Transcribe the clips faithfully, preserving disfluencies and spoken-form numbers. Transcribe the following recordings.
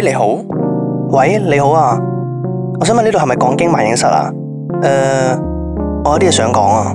你好，喂，你好啊，我想問呢度係咪講經萬應室啊？誒、呃，我有啲嘢想講啊。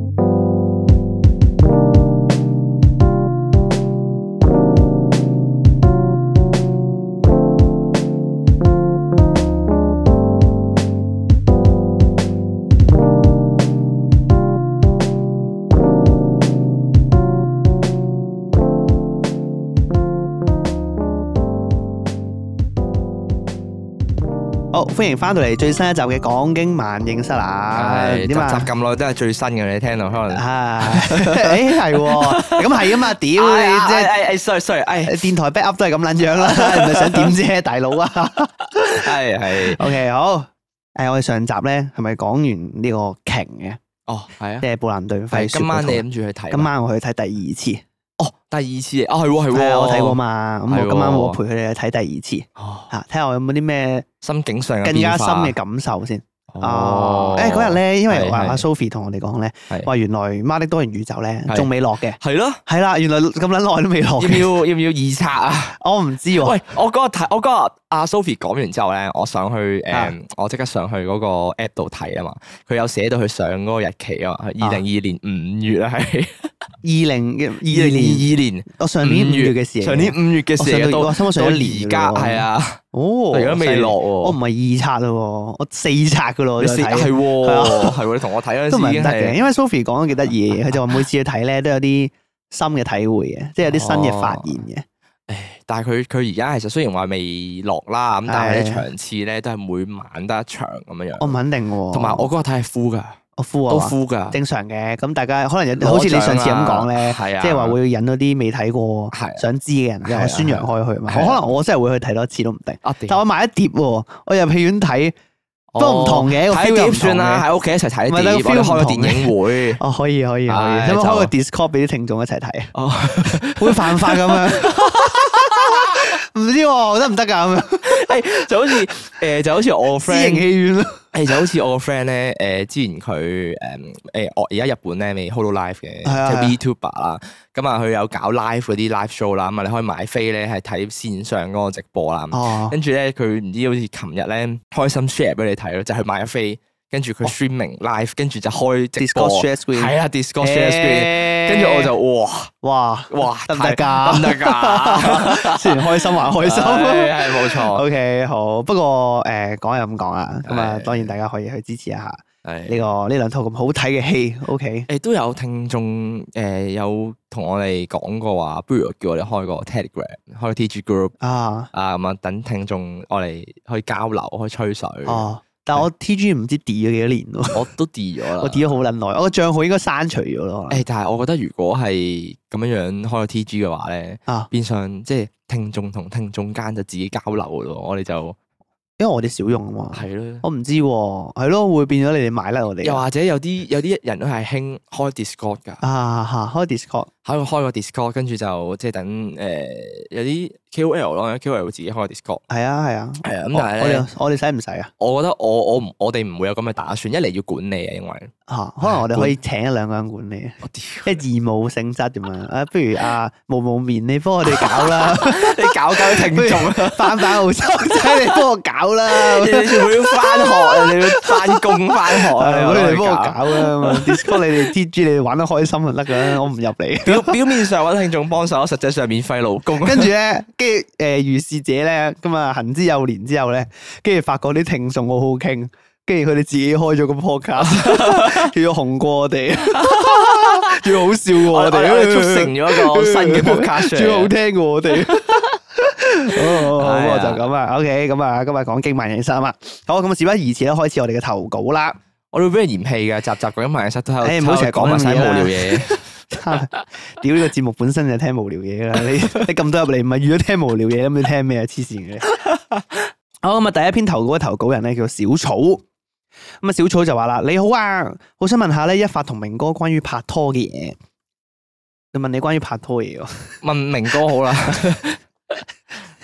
好，歡迎翻到嚟最新一集嘅講經萬應室啊！ 點啊？集咁耐都係最新嘅，你聽到可能係，誒係喎，咁係啊嘛，屌你即係誒誒，sorry sorry，誒電台 back up 都係咁撚樣啦，唔係想點啫，大佬啊！ 係係 OK 好，誒我哋上集咧係咪講完呢個鯨嘅？ 哦係啊， 即係布蘭頓廢。 今晚你諗住去睇？ 今晚我去睇第二次。 哦，第二次啊，係喎係喎， 我睇過嘛，咁我今晚我陪佢哋去睇第二次， 哦， 嚇睇下我有冇啲咩心境上更加深嘅感受先。 哦， 誒嗰日咧，因為話阿 Sophie 同我哋講咧，話原來《媽的多元宇宙》咧仲未落嘅， 係咯， 係啦，原來咁撚耐都未落。 要唔要要唔要二刷啊？ 我唔知喎。 喂，我嗰日睇，我嗰日阿 Sophie 講完之後咧，我上去誒，我即刻上去嗰個 app 度睇啊嘛，佢有寫到佢上嗰個日期啊嘛，二零二二年五月啊係。 二零嘅二零二二年， 我上年五月嘅事， 上年五月嘅事到到而家係啊， 哦， 而家未落喎， 我唔係二刷咯，我四刷噶咯， 你四係喎，係喎，你同我睇嗰陣時都唔係唔得嘅，因為 Sophie 講得幾得意嘅，佢就話每次去睇咧都有啲新嘅體會嘅，即係有啲新嘅發現嘅。 誒，但係佢佢而家其實雖然話未落啦，咁但係啲場次咧都係每晚得一場咁樣樣。 我唔肯定喎， 同埋我嗰日睇係 full 噶。 我 full 啊， 都 full 噶， 正常嘅。咁大家可能有，好似你上次咁講咧，即係話會引到啲未睇過、想知嘅人，又宣揚開去嘛。我可能我真係會去睇多次都唔定。但我買一碟喎，我入戲院睇都唔同嘅。 睇碟算啦，喺屋企一齊睇碟，或者開個電影會。 哦，可以可以可以，有冇開個 Discord 俾啲聽眾一齊睇啊？ 哦， 會犯法咁樣？唔知喎，得唔得㗎咁樣？ 誒，就好似誒，就好似我個 friend 私營戲院咯。 誒，就好似我個 friend 咧，誒，之前佢誒誒，我而家日本咧未 hold 到 live 嘅，即係 VTuber 啦。咁啊，佢有搞 live 嗰啲 live show 啦。咁啊，你可以買飛咧，係睇線上嗰個直播啦。 哦。 跟住咧，佢唔知好似琴日咧，開心 share 俾你睇咯，就係買咗飛，跟住佢 streaming live，跟住就開直播。 Discord share screen。 係啊，Discord share screen。跟住我就哇哇哇得唔得㗎？ 得唔得㗎？ 雖然開心還開心， 係冇錯。 OK 好，不過誒講又咁講啊，咁啊當然大家可以去支持一下呢個呢兩套咁好睇嘅戲。OK 誒都有聽眾誒有同我哋講過話，不如叫我哋開個 Telegram， 開個 T G group 啊啊咁啊，等聽眾我哋可以交流，可以吹水。 哦。但係我 T G 唔知 delete 咗幾多年咯， 我都 delete 咗啦， 我 delete 咗好撚耐，我個賬號應該刪除咗咯。 誒，但係我覺得如果係咁樣樣開個 T G 嘅話咧， 啊， 變相即係聽眾同聽眾間就自己交流嘅咯，我哋就因為我哋少用啊嘛， 係咯， 我唔知喎，係咯，會變咗你哋買甩我哋。 又或者有啲有啲人都係興開 Discord 㗎， 啊嚇，開 Discord， 喺度開個 Discord，跟住就即係等誒有啲 K O L 咯 ，K O L 會自己開個 Discord。 係啊係啊， 係啊，咁但係我哋我哋使唔使啊？ 我覺得我我唔我哋唔會有咁嘅打算，一嚟要管理啊，因為嚇，可能我哋可以請一兩個人管理，即係義務性質咁樣。啊，不如啊無無眠你幫我哋搞啦， 你搞搞聽眾， 翻返澳洲仔你幫我搞啦， 你全部要翻學啊，你要翻工翻學啊， 你哋幫我搞啦。Discord 你哋 T G 你哋玩得開心就得噶啦，我唔入嚟。 表表面上揾聽眾幫手，實際上免費勞工。 跟住咧，跟住誒如是者咧，咁啊行之有年之後咧，跟住發覺啲聽眾好好傾，跟住佢哋自己開咗個 podcast，仲要紅過我哋，仲要好笑過我哋， 我哋促成咗一個新嘅 podcast， 仲要好聽過我哋。好，好，好，就咁啊。OK，咁啊，今日講經萬應室啊嘛。好，咁啊，事不宜遲啦，開始我哋嘅投稿啦。 我哋俾人嫌棄嘅，集集講緊萬應室都喺度， 誒，唔好成日講埋晒無聊嘢。 屌，呢個節目本身就聽無聊嘢啦，你你咁多入嚟唔係預咗聽無聊嘢，咁你聽咩啊？黐線嘅。好，咁啊，第一篇投稿嘅投稿人咧叫小草，咁啊小草就話啦：你好啊，好想問下咧一發同明哥關於拍拖嘅嘢。你問你關於拍拖嘢喎？ 問明哥好啦。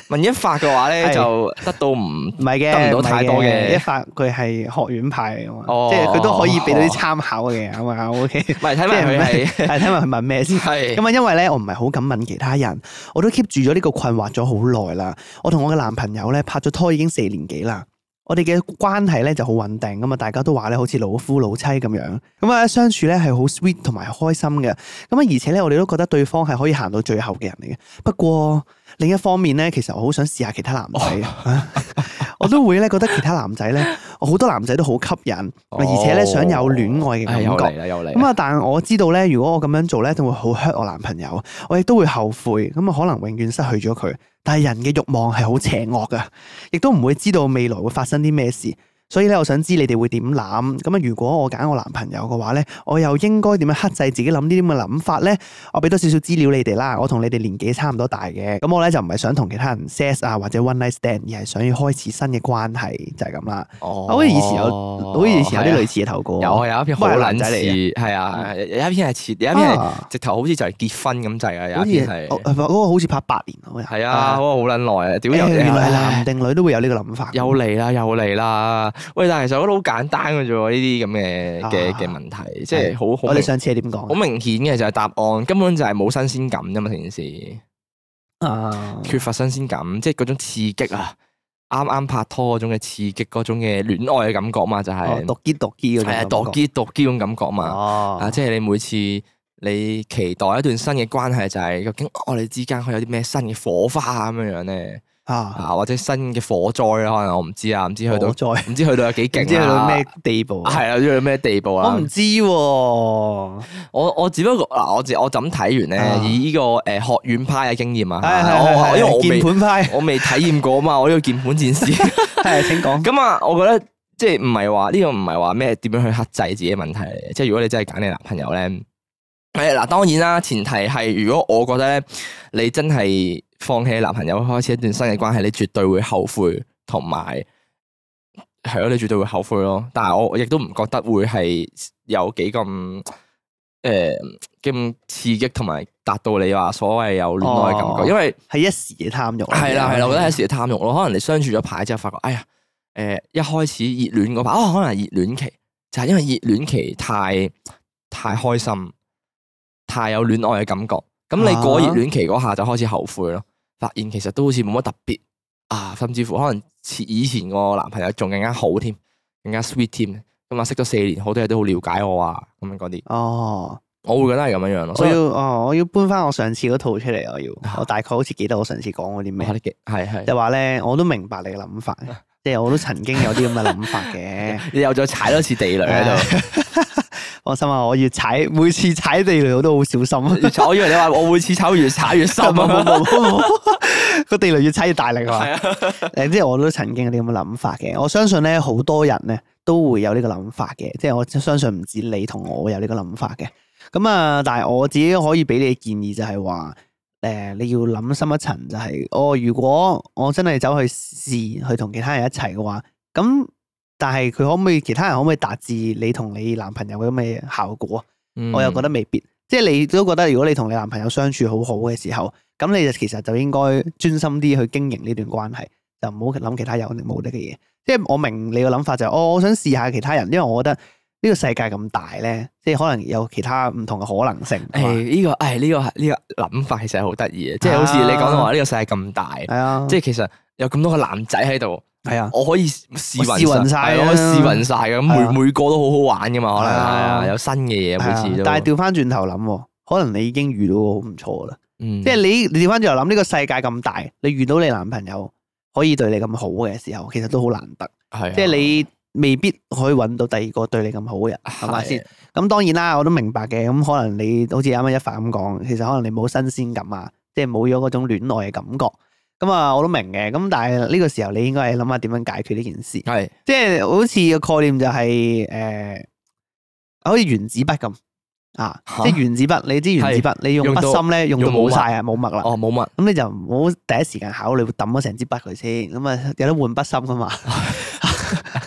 問一發嘅話咧，就得到唔唔係嘅， 得唔到太多嘅。 一發佢係學院派嚟㗎嘛， 哦、 即係佢都可以俾到啲參考嘅，係嘛？O K， 唔係睇埋佢係係睇埋佢問咩先。 係咁啊，因為咧我唔係好敢問其他人，我都 keep 住咗呢個困惑咗好耐啦。我同我嘅男朋友咧拍咗拖已經四年幾啦。我哋嘅關係咧就好穩定咁啊，大家都話咧好似老夫老妻咁樣，咁啊相處咧係好 sweet 同埋開心嘅，咁啊而且咧我哋都覺得對方係可以行到最後嘅人嚟嘅。不過另一方面咧，其實我好想試下其他男仔，我都會咧覺得其他男仔咧，好多男仔都好吸引，而且咧想有戀愛嘅感覺。 又嚟啦，又嚟。 咁啊，但係我知道咧，如果我咁樣做咧，就會好 hurt 我男朋友，我亦都會後悔，咁啊可能永遠失去咗佢。但係人嘅慾望係好邪惡噶，亦都唔會知道未來會發生啲咩事。所以咧，我想知你哋會點諗？咁啊，如果我揀我男朋友嘅話咧，我又應該點樣克制自己諗呢啲咁嘅諗法咧？我俾多少少資料你哋啦。我同你哋年紀差唔多大嘅，咁我咧就唔係想同其他人 sex 啊或者 one night stand，而係想要開始新嘅關係，就係咁啦。 哦， 好似以前有，好似以前有啲類似嘅投稿。 有啊，有一篇好撚仔嚟似，係啊，有一篇係似，有一篇係直頭好似就係結婚咁滯啊，有一篇係嗰個好似拍八年啊。 係啊，嗰個好撚耐啊！屌， 原來男定女都會有呢個諗法。 又嚟啦，又嚟啦！喂，但係其實我覺得好簡單嘅啫喎，呢啲咁嘅嘅嘅問題，即係好好。 我哋上次係點講？ 好明顯嘅就係答案，根本就係冇新鮮感啫嘛，成件事。 啊！ 缺乏新鮮感，即係嗰種刺激啊！啱啱拍拖嗰種嘅刺激，嗰種嘅戀愛嘅感覺嘛，就係獨結獨結嗰種。 係啊，獨結獨結嗰種感覺嘛。 哦。 啊，即係你每次你期待一段新嘅關係，就係究竟我哋之間可以有啲咩新嘅火花咁樣樣咧？啊，或者新嘅火災啦，可能我唔知啊，唔知去到唔知去到有幾勁， 唔知去到咩地步。 係啊，唔知去到咩地步啦。 我唔知喎，我我只不過嗱，我自我就咁睇完咧，以呢個誒學院派嘅經驗啊， 係因為我鍵盤派， 我未體驗過嘛，我呢個鍵盤戰士係請講。 咁啊，我覺得即係唔係話呢個唔係話咩點樣去克制自己嘅問題嚟嘅，即係如果你真係揀你男朋友咧，誒嗱，當然啦，前提係如果我覺得咧，你真係放棄男朋友開始一段新嘅關係，你絕對會後悔，同埋係咯，你絕對會後悔咯。但係我亦都唔覺得會係有幾咁誒咁刺激，同埋達到你話所謂有戀愛嘅感覺，哦、因為係一時嘅貪慾。 係啦係啦，我覺得係一時嘅貪慾咯。可能你相處咗排之後，發覺哎呀，誒、呃、一開始熱戀嗰排，哦，可能係熱戀期，就係、是、因為熱戀期太太開心，太有戀愛嘅感覺。咁你過熱戀期嗰下就開始後悔咯。發現其實都好似冇乜特別啊，甚至乎可能以前個男朋友仲更加好添，更加 sweet 添。咁啊，識咗四年，好多嘢都好了解我啊，咁樣嗰啲。哦，我會覺得係咁樣樣咯。 我要哦，我要搬翻我上次嗰套出嚟，我要，我大概好似記得我上次講嗰啲咩。 係係。 就話咧，我都明白你嘅諗法，即係我都曾經有啲咁嘅諗法嘅。 你又再踩多次地雷喺度。 放心啊，我越踩，每次踩地雷我都好小心。 我以為你話我每次踩越踩越深啊！ 個地雷越踩越大力啊！誒，即係我都曾經有啲咁嘅諗法嘅。我相信咧，好多人咧都會有呢個諗法嘅。即係我相信唔止你同我有呢個諗法嘅。咁啊，但係我自己可以俾你嘅建議就係話，誒，你要諗深一層，就係，哦，如果我真係走去試去同其他人一齊嘅話，咁。但係佢可唔可以其他人可唔可以達至你同你男朋友嘅咁嘅效果？嗯、我又覺得未必。即係你都覺得如果你同你男朋友相處好好嘅時候，咁你就其實就應該專心啲去經營呢段關係，就唔好諗其他有定冇得嘅嘢。即係我明你個諗法就係、是，哦，我想試下其他人，因為我覺得呢個世界咁大咧，即係可能有其他唔同嘅可能性。 誒，呢個誒呢個呢個諗法其實係好得意嘅，即係好似你講到話呢個世界咁大，係啊，即係其實有咁多個男仔喺度。係啊，我可以試勻晒，我可以試勻晒嘅，咁每每個都好好玩噶嘛，可能係啊，有新嘅嘢每次都。 但係調翻轉頭諗，可能你已經遇到個好唔錯啦。 嗯， 即係你你調翻轉頭諗，呢個世界咁大，你遇到你男朋友可以對你咁好嘅時候，其實都好難得。係，即係你未必可以揾到第二個對你咁好嘅人，係咪先？咁當然啦，我都明白嘅。咁可能你好似啱啱一發咁講，其實可能你冇新鮮感啊，即係冇咗嗰種戀愛嘅感覺。咁啊，我都明嘅。咁但係呢個時候，你應該係諗下點樣解決呢件事。係是，即係好似個概念就係、是、誒、呃，好似原子筆咁啊，哈即係原子筆。你知原子筆，是你用筆芯咧，用到冇晒啊，冇墨啦。哦，冇墨。咁你就唔好第一時間考慮抌咗成支筆佢先。咁啊，有得換筆芯噶嘛？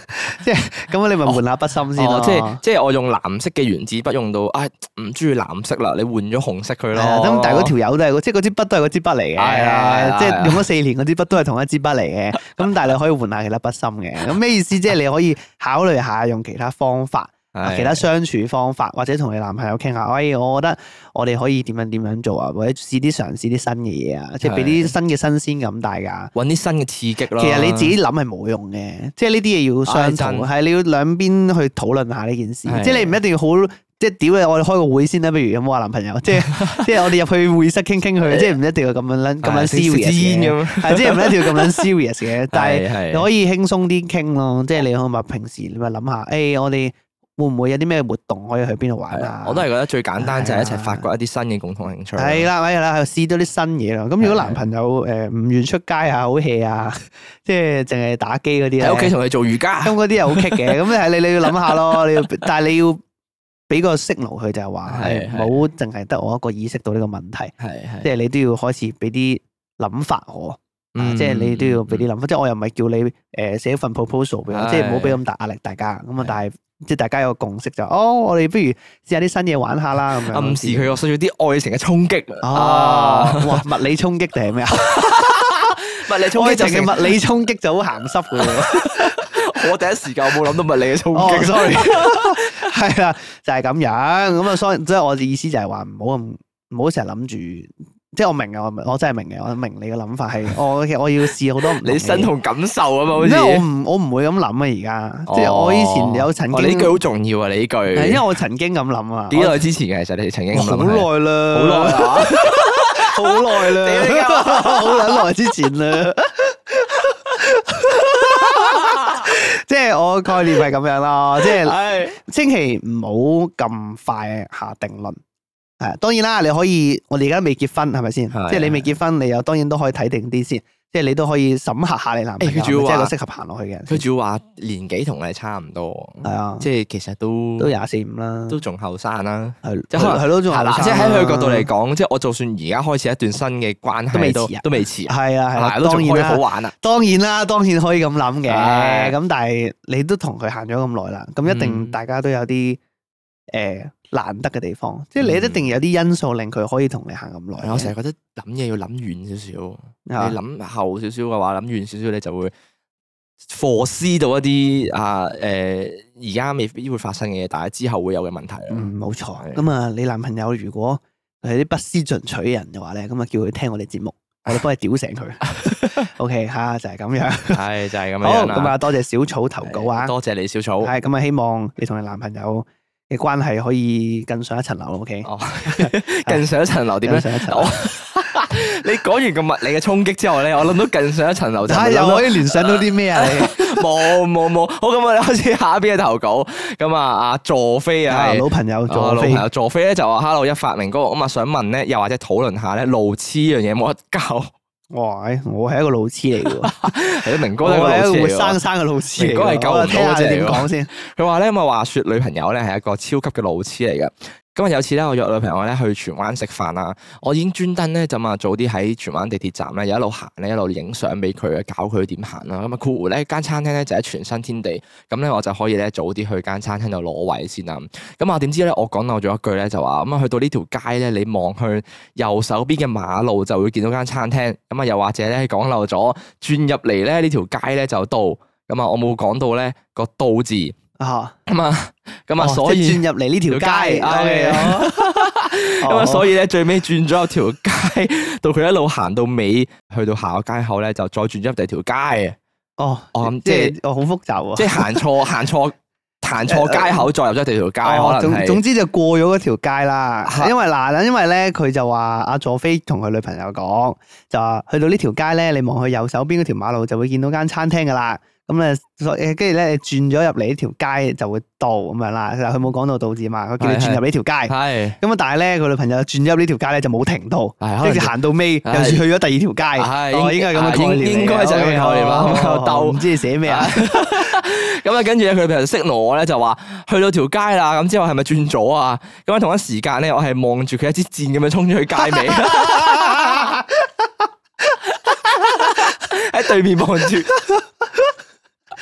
即係咁，你咪換下筆芯先咯。 即係即係我用藍色嘅原子筆用到，唉唔中意藍色啦，你換咗紅色佢咯。 咁但係嗰條友都係，即係嗰支筆都係嗰支筆嚟嘅。係啊，即係用咗四年嗰支筆都係同一支筆嚟嘅。咁但係你可以換下其他筆芯嘅。咁咩意思？即係你可以考慮下用其他方法。其他相處方法，或者同你男朋友傾下，喂，我覺得我哋可以點樣點樣做啊，或者試啲嘗試啲新嘅嘢啊，即係俾啲新嘅新鮮感大家， 揾啲新嘅刺激咯。 其實你自己諗係冇用嘅，即係呢啲嘢要相討，係你要兩邊去討論下呢件事。即係你唔一定要好，即係屌你，我哋開個會先啦，不如有冇話男朋友？即係即係我哋入去會室傾傾佢，即係唔一定要咁樣撚咁樣 serious 嘅，係即係唔一定要咁樣 serious 嘅，但係你可以輕鬆啲傾咯。即係你可以話平時你咪諗下，誒我哋。會唔會有啲咩活動可以去邊度玩啊？ 我都係覺得最簡單就係一齊發掘一啲新嘅共同興趣。 係啦，係啦，試到啲新嘢咯。咁如果男朋友誒唔願出街啊，好 hea 啊，即係淨係打機嗰啲咧， 喺屋企同佢做瑜伽， 咁嗰啲又好棘嘅。咁係你你要諗下咯，你要，但係你要俾個 signal 佢就係話，係唔好淨係得我一個意識到呢個問題。係係，即係你都要開始俾啲諗法我。即係你都要俾啲諗法。即係我又唔係叫你誒寫份 proposal 俾我，即係唔好俾咁大壓力大家。咁啊，但係。即係大家有個共識就，哦，我哋不如試下啲新嘢玩下啦，咁樣暗示佢我需要啲愛情嘅衝擊。 哦，哇，物理衝擊定係咩啊？ 物理衝擊就係物理衝擊就好鹹濕嘅喎。 我第一時間我冇諗到物理嘅衝擊。 sorry，係啦，就係咁樣。咁啊，所以即係我嘅意思就係話唔好咁，唔好成日諗住。即係我明嘅，我我真係明嘅，我明你嘅諗法係，我我要試好多唔同嘅嘢。你身同感受啊嘛，好似。 因為我唔我唔會咁諗啊，而家即係我以前有曾經。 呢句好重要啊！你呢句。 係因為我曾經咁諗啊。 幾耐之前嘅？其實你曾經咁諗。 好耐啦， 好耐啊， 好耐啦，好撚耐之前啦。即係我概念係咁樣咯，即係千祈唔好咁快下定論。係，當然啦，你可以，我哋而家未結婚，係咪先？即係你未結婚，你又當然都可以睇定啲先，即係你都可以審核下你男朋友，即係個適合行落去嘅。 佢主要話年紀同你差唔多，係啊，即係其實都都廿四五啦， 都仲後生啦， 係即係可能係咯，仲後生。 即係喺佢角度嚟講，即係我就算而家開始一段新嘅關係，都未遲啊，都未遲啊， 係啊係啊， 都仲可以好玩啊。 當然啦，當然可以咁諗嘅，咁但係你都同佢行咗咁耐啦，咁一定大家都有啲誒。難得嘅地方，即係你一定有啲因素令佢可以同你行咁耐。 我成日覺得諗嘢要諗遠少少，你諗後少少嘅話，諗遠少少，你就會 foresee 到一啲啊誒而家未必會發生嘅嘢，但係之後會有嘅問題咯。嗯， 冇錯。咁啊，你男朋友如果係啲不思進取嘅人嘅話咧，咁啊叫佢聽我哋節目，我哋幫佢屌醒佢。OK 吓，就係咁樣。係就係咁樣。好，咁啊，多謝小草投稿啊， 多謝你小草。 係咁啊，希望你同你男朋友嘅關係可以更上一層樓 ，OK？ 哦， 更上一層樓點樣？上一層樓。你講完個物理嘅衝擊之後咧，我諗到更上一層樓就係又可以聯想到啲咩啊？你冇冇冇，好，咁我哋開始下一邊嘅投稿。咁啊，阿佐飛啊， 老朋友佐飛， 老朋友佐飛咧就話 Hello 一發明哥，咁啊想問咧，又或者討論下咧，路痴呢樣嘢冇得教。 哇！我係一個路痴嚟嘅， 係明哥都係一個活生生嘅路痴嚟。 明哥係九唔到嘅， 點講先？ 佢話咧，咁啊話說女朋友咧係一個超級嘅路痴嚟嘅。咁啊有次咧，我約女朋友咧去荃灣食飯啦，我已經專登咧就啊早啲喺荃灣地鐵站咧，一路行咧一路影相俾佢，教佢點行啦。咁啊括弧咧間餐廳咧就喺荃新天地，咁咧我就可以咧早啲去間餐廳度攞位先啦。咁啊點知咧我講漏咗一句咧就話，咁啊去到呢條街咧，你望去右手邊嘅馬路就會見到間餐廳。咁啊又或者咧講漏咗轉入嚟咧呢條街咧就到。咁啊我冇講到咧個到字。啊，咁啊，咁啊，所以轉入嚟呢條街， 咁啊，所以咧最尾轉咗有條街，到佢一路行到尾，去到下個街口咧，就再轉咗入第二條街。 哦，哦，即係，哦，好複雜啊！ 即係行錯，行錯，行錯街口，再入咗第二條街，可能係。 總之就過咗嗰條街啦。因為嗱，因為咧佢就話阿佐飛同佢女朋友講，就話去到呢條街咧，你望去右手邊嗰條馬路就會見到間餐廳噶啦。咁咧，誒，跟住咧，你轉咗入嚟呢條街就會到咁樣啦。佢冇講到到字嘛，佢叫你轉入呢條街。係。咁啊，但係咧，佢女朋友轉咗入呢條街咧就冇停到，跟住行到尾又去咗第二條街。係，應該係咁嘅概念。應該就係咁嘅概念啦。兜唔知你寫咩啊？ 咁啊，跟住咧，佢女朋友識我咧就話去到條街啦。咁之後係咪轉左啊？咁啊，同一時間咧，我係望住佢一支箭咁樣衝咗去街尾，喺對面望住。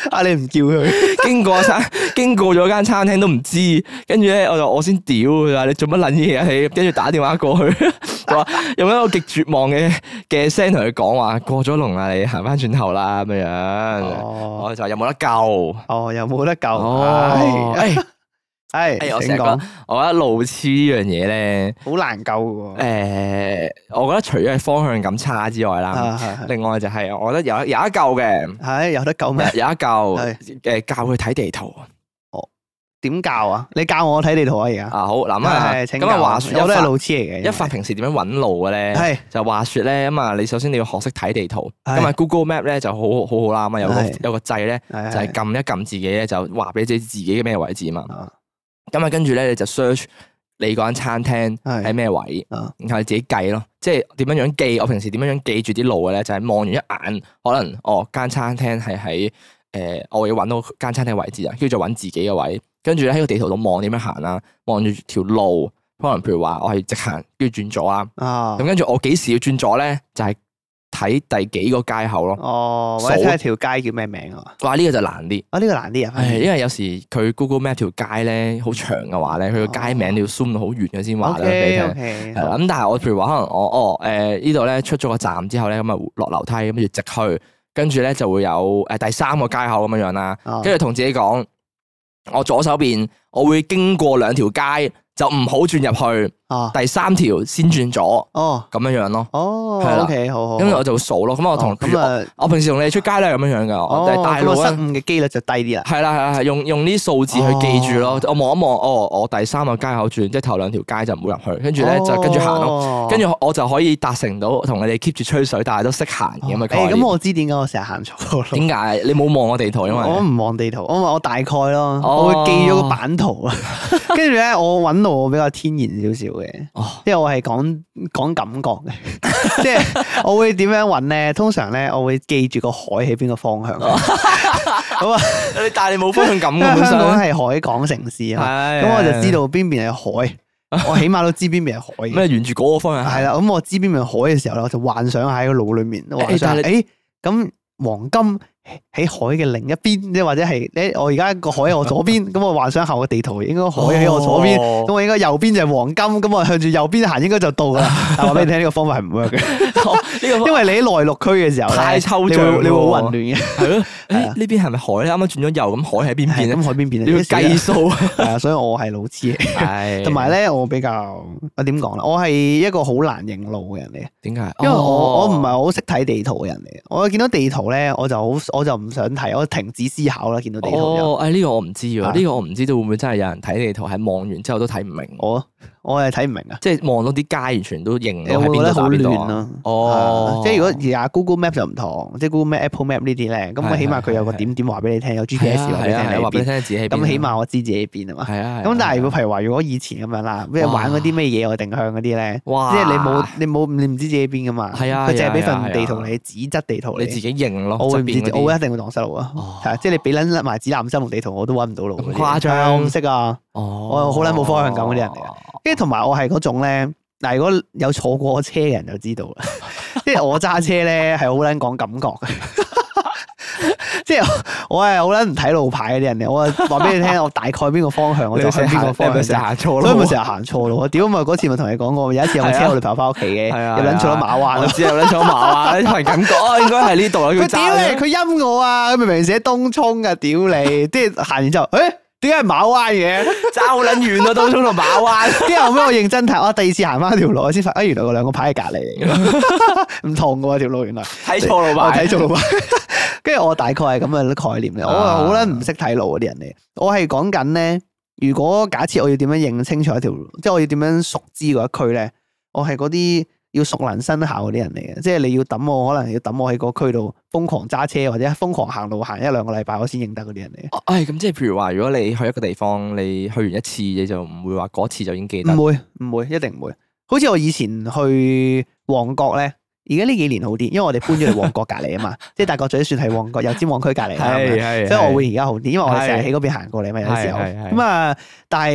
啊你唔叫佢， 經過餐經過咗間餐廳都唔知，跟住咧我就我先屌佢話你做乜撚嘢啊你，跟住打電話過去，話用一個極絕望嘅嘅聲同佢講話過咗龍啦，你行翻轉頭啦咁樣樣， 哦我就話有冇得救？ 哦又冇得救， 哦， 係係係我成日覺得，我覺得路痴呢樣嘢咧， 好難救嘅喎， 誒，我覺得除咗係方向感差之外啦， 啊係係另外就係我覺得有有一救嘅， 係有得救咩？ 有一救係誒教佢睇地圖。 點教啊？你教我睇地圖啊而家。 啊好，嗱咁啊， 係請咁啊話説我都係一發路痴嚟嘅。 一發平時點樣揾路嘅咧？ 係就話説咧，咁啊，你首先你要學識睇地圖。 係咁啊，Google Map 咧就好好好好啦，咁啊有個係有個掣咧， 係就係撳一撳自己咧，就話俾自己自己嘅咩位置嘛。 啊咁啊，跟住咧你就 search 你嗰間餐廳係喺咩位， 啊然後你自己計咯。即係點樣樣記？我平時點樣樣記住啲路嘅咧？就係望完一眼，可能哦間餐廳係喺誒，我要揾到間餐廳位置啊，跟住再揾自己嘅位。跟住咧喺個地圖度望點樣行啦，望住條路，可能譬如話我係直行，跟住轉左啦。 啊咁跟住我幾時要轉左咧？就係睇第幾個街口咯。 哦，或者睇下條街叫咩名啊？ 哇！呢個就難啲。 啊呢個難啲啊， 係因為有時佢 Google Map 條街咧好長嘅話咧，佢個街名你要 zoom 到好遠嘅先話咧俾你 O 聽。 K 係啦，咁但係我譬如話可能我哦誒呢度咧出咗個站之後咧，咁啊落樓梯，跟住直去，跟住咧就會有誒第三個街口咁樣樣啦。跟住同自己講，我左手邊我會經過兩條街，就唔好轉入去。 啊第三條先轉左， 哦咁樣樣咯。 哦係啦 O K 好好。 咁我就會數咯。咁我同哦咁啊我平時同你出街都係咁樣樣噶。我哋大哦咁啊失路咧。 誤嘅機率就低啲啦。 係啦係啦係，用用啲數字去記住咯。 哦我望一望，哦，我第三個街口轉，即係頭兩條街就唔好入去，跟住咧就跟住行咯。 咯跟住我就可以達成到同你哋 keep 住吹水，但係都識行咁嘅概念。 誒咁我知點解我成日行錯咯。 點解你冇望我地圖？因為我唔望地圖，我話我大概咯， 哦我會記咗個版圖啊。跟住咧，我揾路我比較天然少少嘅， 哦即係我係講講感覺嘅，即係我會點樣揾咧？通常咧，我會記住個海喺邊個方向。咁啊， 你但係你冇方向感因為嘅本香港身。 係海港城市啊嘛， 係咁我就知道邊邊係海，我起碼都知邊邊係海嘅。 咩沿住嗰個方向行。 係啦，咁我知邊邊係海嘅時候咧，我就幻想喺個腦裏面，幻想但係誒咁黃金喺海嘅另一邊，即係或者係咧，我而家個海喺我左邊，咁我幻想下個地圖應該海喺我左邊，咁我應該右邊就係黃金，咁我向住右邊行應該就到噶啦。但係話俾你聽，呢個方法係唔 work 嘅， 呢個因為你喺內陸區嘅時候咧太抽你象會你會好喎混亂嘅。 係咯。誒係啊呢邊係咪海咧？啱啱轉咗右，咁海喺邊邊係咧？ 咁海邊邊啊你要計數。 係啊，所以我係老痴嚟。 係同埋咧，我比較我點講咧？我係一個好難認路嘅人嚟嘅。 點解？ 因為我我唔係哦好識睇地圖嘅人嚟嘅，我見到地圖咧，我就好我就唔想睇，我停止思考啦。見到地圖就哦，誒呢個我唔知喎， 啊呢個我唔知道會唔會真係有人睇地圖係望完之後都睇唔明， 我我係睇唔明啊， 即係望到啲街完全都認你到喺邊會覺得好度打邊度啊。 亂咯。 哦啊，即係如果而家 Google Map 就唔同，即係 Google Map、Apple Map 呢啲咧，咁係起碼佢有個係點點話俾你聽，有 G P 係 S 啊話俾你係啊係啊話俾你聽喺邊。 聽自己喺邊啊。 咁起碼我知自己喺邊啊嘛。 係啊。 咁但係如果果譬如話，如果以前咁樣啦，即係玩嗰啲咩野外定向嗰啲咧， 哇即係你冇你冇你唔知自己喺邊噶嘛。 係啊佢淨係俾係啊份地圖係啊你，紙質地圖你自己認咯， 我會唔知， 側邊嗰啲我會一定會蕩失路啊！ 哦係啊，即係你俾撚埋指南針同地圖，我都揾唔到路嗰啲。 咁誇張係啊我唔識啊！ 哦， 我好撚冇方向感嗰啲人嚟嘅跟住同埋我係嗰種咧，嗱，如果有坐過車嘅人就知道啦。即係我揸車咧係好撚講感覺嘅，即係我係好撚唔睇路牌嗰啲人嚟。我話俾你聽，我大概邊個方向我就向邊個方向成日行錯所以咪路。 成日行錯路。屌咪嗰次咪同你講過，有一次我車我女朋友翻屋企嘅， 係啊又撚錯咗馬灣我。知有撚錯馬灣，憑感覺啊，應該係呢度啦。 佢佢屌你，佢陰我啊！佢明明寫東涌噶，屌你！即係行完之後，誒，點解係馬灣嘅？ 爭好撚遠啊，東涌同馬灣。 跟住後尾我認真睇，我第二次行翻條路，我先發，啊，原來嗰兩個牌係隔離嚟嘅，唔同嘅喎條路，原來睇錯路我牌， 睇錯路牌。跟住我大概係咁嘅概念嘅，我係好撚唔識睇路嗰啲人嚟。我係講緊咧，如果假設我要點樣認清楚一條路，即係我要點樣熟知嗰一區咧，我係嗰啲要熟能生巧嗰啲人嚟嘅，即係你要抌我，可能要抌我喺個區度瘋狂揸車或者瘋狂行路行一兩個禮拜，我先認得嗰啲人嚟嘅。 唉，咁即係譬如話，如果你去一個地方，你去完一次，你就唔會話嗰次就已經記得。 唔會唔會，一定唔會。好似我以前去旺角咧，而家呢幾年好啲，因為我哋搬咗去旺角隔離啊嘛，即係大角咀算係旺角油尖旺區隔離啦， 係係所以我會而家好啲，因為我哋成日喺嗰邊行過嚟嘛，有時候係係係咁啊。但係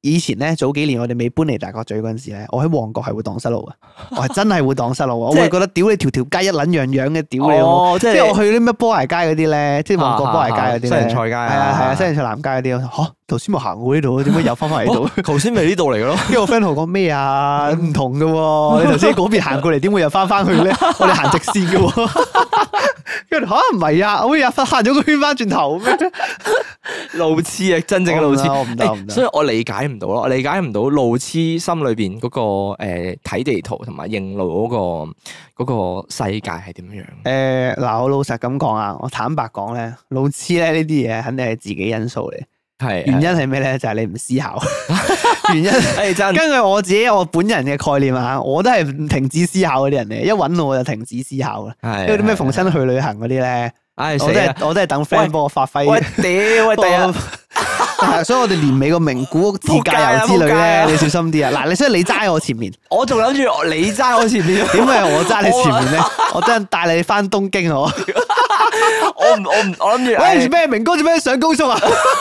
以前咧早幾年我哋未搬嚟大角咀嗰陣時咧，我喺旺角係會蕩失路嘅，我係真係會蕩失路，我會覺得屌你條條街一撚樣樣嘅，屌你！ 哦，即係我去啲咩波鞋街嗰啲咧，即係旺角波鞋街嗰啲咧， 西洋菜街係啊係啊，西洋菜南街嗰啲，嚇頭先冇行過呢度，點解又翻返嚟呢度？ 頭先咪呢度嚟嘅咯。 跟住我 friend 同我講咩啊？唔同嘅喎，你頭先嗰邊行過嚟，點會又翻翻去咧？我哋行直線嘅喎。跟住嚇唔係啊，我又行咗個圈翻轉頭咩？ 路痴啊，真正嘅路痴， 我唔得，我唔得。 所以我理解唔到咯，我理解唔到路痴心裏邊嗰個誒睇地圖同埋認路嗰個嗰個世界係點樣？ 誒嗱，我老實咁講啊，我坦白講咧，路痴咧呢啲嘢肯定係自己因素嚟。 係原因係咩咧？就係你唔思考。原因誒真。 根據我自己我本人嘅概念啊，我都係唔停止思考嗰啲人嚟，一揾我就停止思考啦。 係。 因為啲咩逢親去旅行嗰啲咧， 唉我都係我都係等 friend 幫我發揮。 喂屌喂第日。 係，所以我哋年尾個名古屋自駕遊之旅咧，你小心啲啊！嗱，你所以你揸我前面， 我仲諗住你揸我前面， 點解我揸你前面咧？我真係帶你翻東京我。 我唔我唔我諗住， 喂做咩？明哥做咩上高速啊？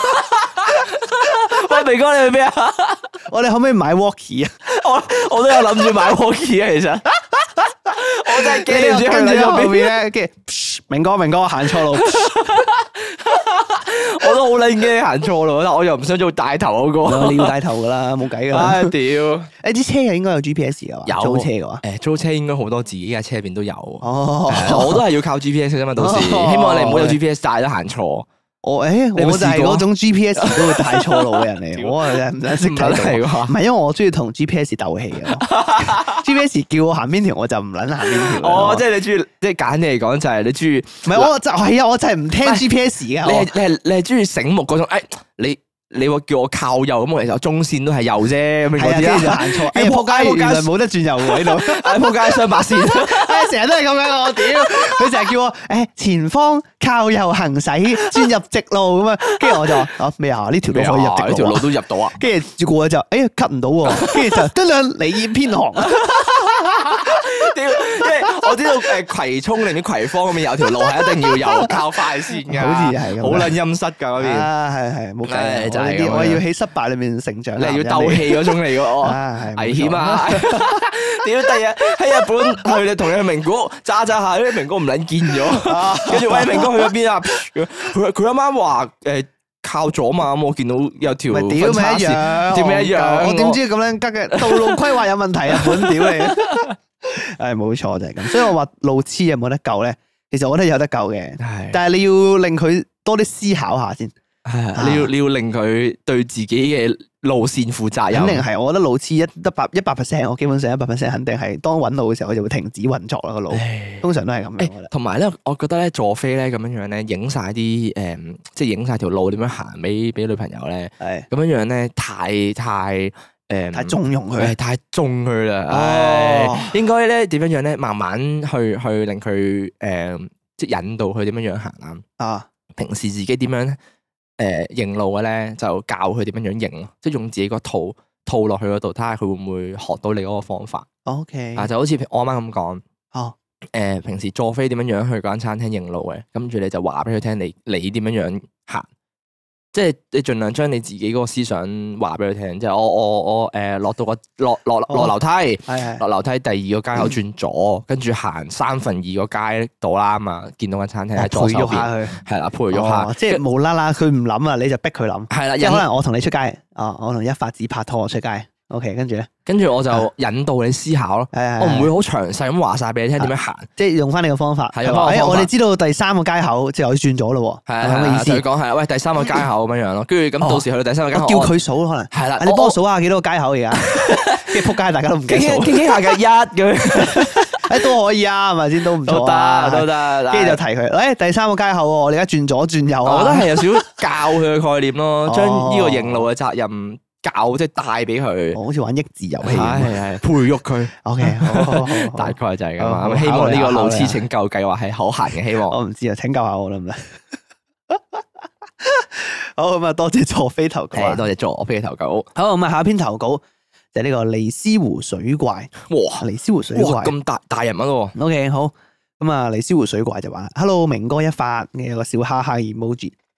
喂明哥你去咩啊？ 我哋可唔可以買 walkie 啊？ 我我都有諗住買 walkie 啊，其實我真係驚住跟住後面咧，跟住明哥明哥行錯路。 我都好撚驚行錯路，但我又唔想做帶頭嗰個。 你要帶頭噶啦，冇計噶啦。 唉屌！ 誒啲車又應該有 G P S 噶嘛？ 有租車嘅話， 誒租車應該好多自己嘅車入邊都有。 哦， 我都係要靠 G P S 啫嘛，到時希望你唔好有 G P S 帶咗行錯。 我誒我就係嗰種 G P S 都會帶錯路嘅人嚟，我係唔使識睇係到。唔係因為我中意同 G P S 鬥氣嘅。G P S 叫我行邊條我就唔撚行邊條。 哦，即係你中意，即係簡單嚟講就係你中意。 唔係我就係啊，我就係唔聽 G P S 嘅。 你係你係你係中意醒目嗰種，誒你。你話叫我靠右咁，我其實中線都係右啫，咁樣嗰啲啊， 就行錯，哎仆街，原來冇得轉右喎喺度， 哎仆街雙白線， 哎成日都係咁樣我屌，佢成日叫我誒前方靠右行駛，轉入直路咁啊，跟住我就話啊咩啊呢條路可以入直路， 呢條路都入到啊， 跟住過就哎呀 cut 唔到喎，跟住就得啦，你已偏航。 屌，因為我知道誒葵涌定啲葵芳嗰邊有條路係一定要右靠快線噶， 好似係咁， 好撚陰濕噶嗰邊。 啊，係係冇計， 就係咁。 我要喺失敗裏面成長， 你係要鬥氣嗰種嚟嘅，危險啊！屌，第日喺日本去你同你去名古屋揸揸下，啲名古屋唔撚見咗，跟住喂明哥去咗邊啊？佢佢啱啱話誒靠左嘛，咁我見到有條分叉線，點咩一樣？ 我點知咁樣吉嘅道路規劃有問題啊？本屌你！誒，冇錯就係咁，所以我話路痴有冇得救咧？其實我覺得有得救嘅，但係你要令佢多啲思考下先。 係啊，你要你要令佢對自己嘅路線負責任。 肯定係，我覺得路痴一得百一百 percent，我基本上一百 percent 肯定係當揾路嘅時候，佢就會停止運作啦個路。通常都係咁樣。 同埋咧，我覺得咧坐飛咧咁樣樣咧，影晒啲誒，即係影晒條路點樣行俾俾女朋友咧。係咁樣樣咧，太太誒， 太縱容佢， 太縱佢啦。哦，應該咧點樣樣咧，慢慢去去令佢誒，即係引導佢點樣樣行啊。啊，平時自己點樣咧？誒，認路嘅咧就教佢點樣樣認咯，即係用自己個套套落去嗰度，睇下佢會唔會學到你嗰個方法。OK，啊就好似我啱啱咁講，哦，誒平時坐飛點樣樣去嗰間餐廳認路嘅，跟住你就話俾佢聽，你你點樣樣行，即係你盡量將你自己嗰個思想話俾佢聽，即係我我我誒落到個落落落樓梯，係落樓梯第二個街口轉左，跟住行三分二個街度啦嘛，見到間餐廳喺左手邊，係啦，培育下，即係無啦啦佢唔諗啊，你就逼佢諗，係啦，即係可能我同你出街，啊，我同一發子拍拖出街。OK， 跟住咧，跟住我就引導你思考咯。我唔會好詳細咁話晒俾你聽點樣行，即係用翻你個方法。係啊，我哋知道第三個街口之後要轉咗咯。係啊，咁嘅意思。佢講係，喂，第三個街口咁樣樣咯。跟住咁到時去到第三個街口，叫佢數咯，可能係啦。你幫我數下幾多個街口而家？跟住仆街，大家都唔記得數。傾傾下嘅一咁，誒都可以啊，係咪先都唔錯啊，都得。跟住就提佢，誒第三個街口，我哋而家轉左轉右啊。我覺得係有少少教佢嘅概念咯，將呢個認路嘅責任。教即係帶俾佢，好似玩益智遊戲咁，係係培育佢。O K，大概就係咁啊。希望呢個路痴拯救計劃係可行嘅，希望。我唔知啊，請教下我啦，唔得。好咁啊，多謝佐飛投稿，多謝佐飛嘅投稿。好咁啊，下一篇投稿就係呢個尼斯湖水怪。哇，尼斯湖水怪咁大大人物咯。O K，好咁啊，尼斯湖水怪就話：，Hello，明哥一發，有個笑哈哈 emoji。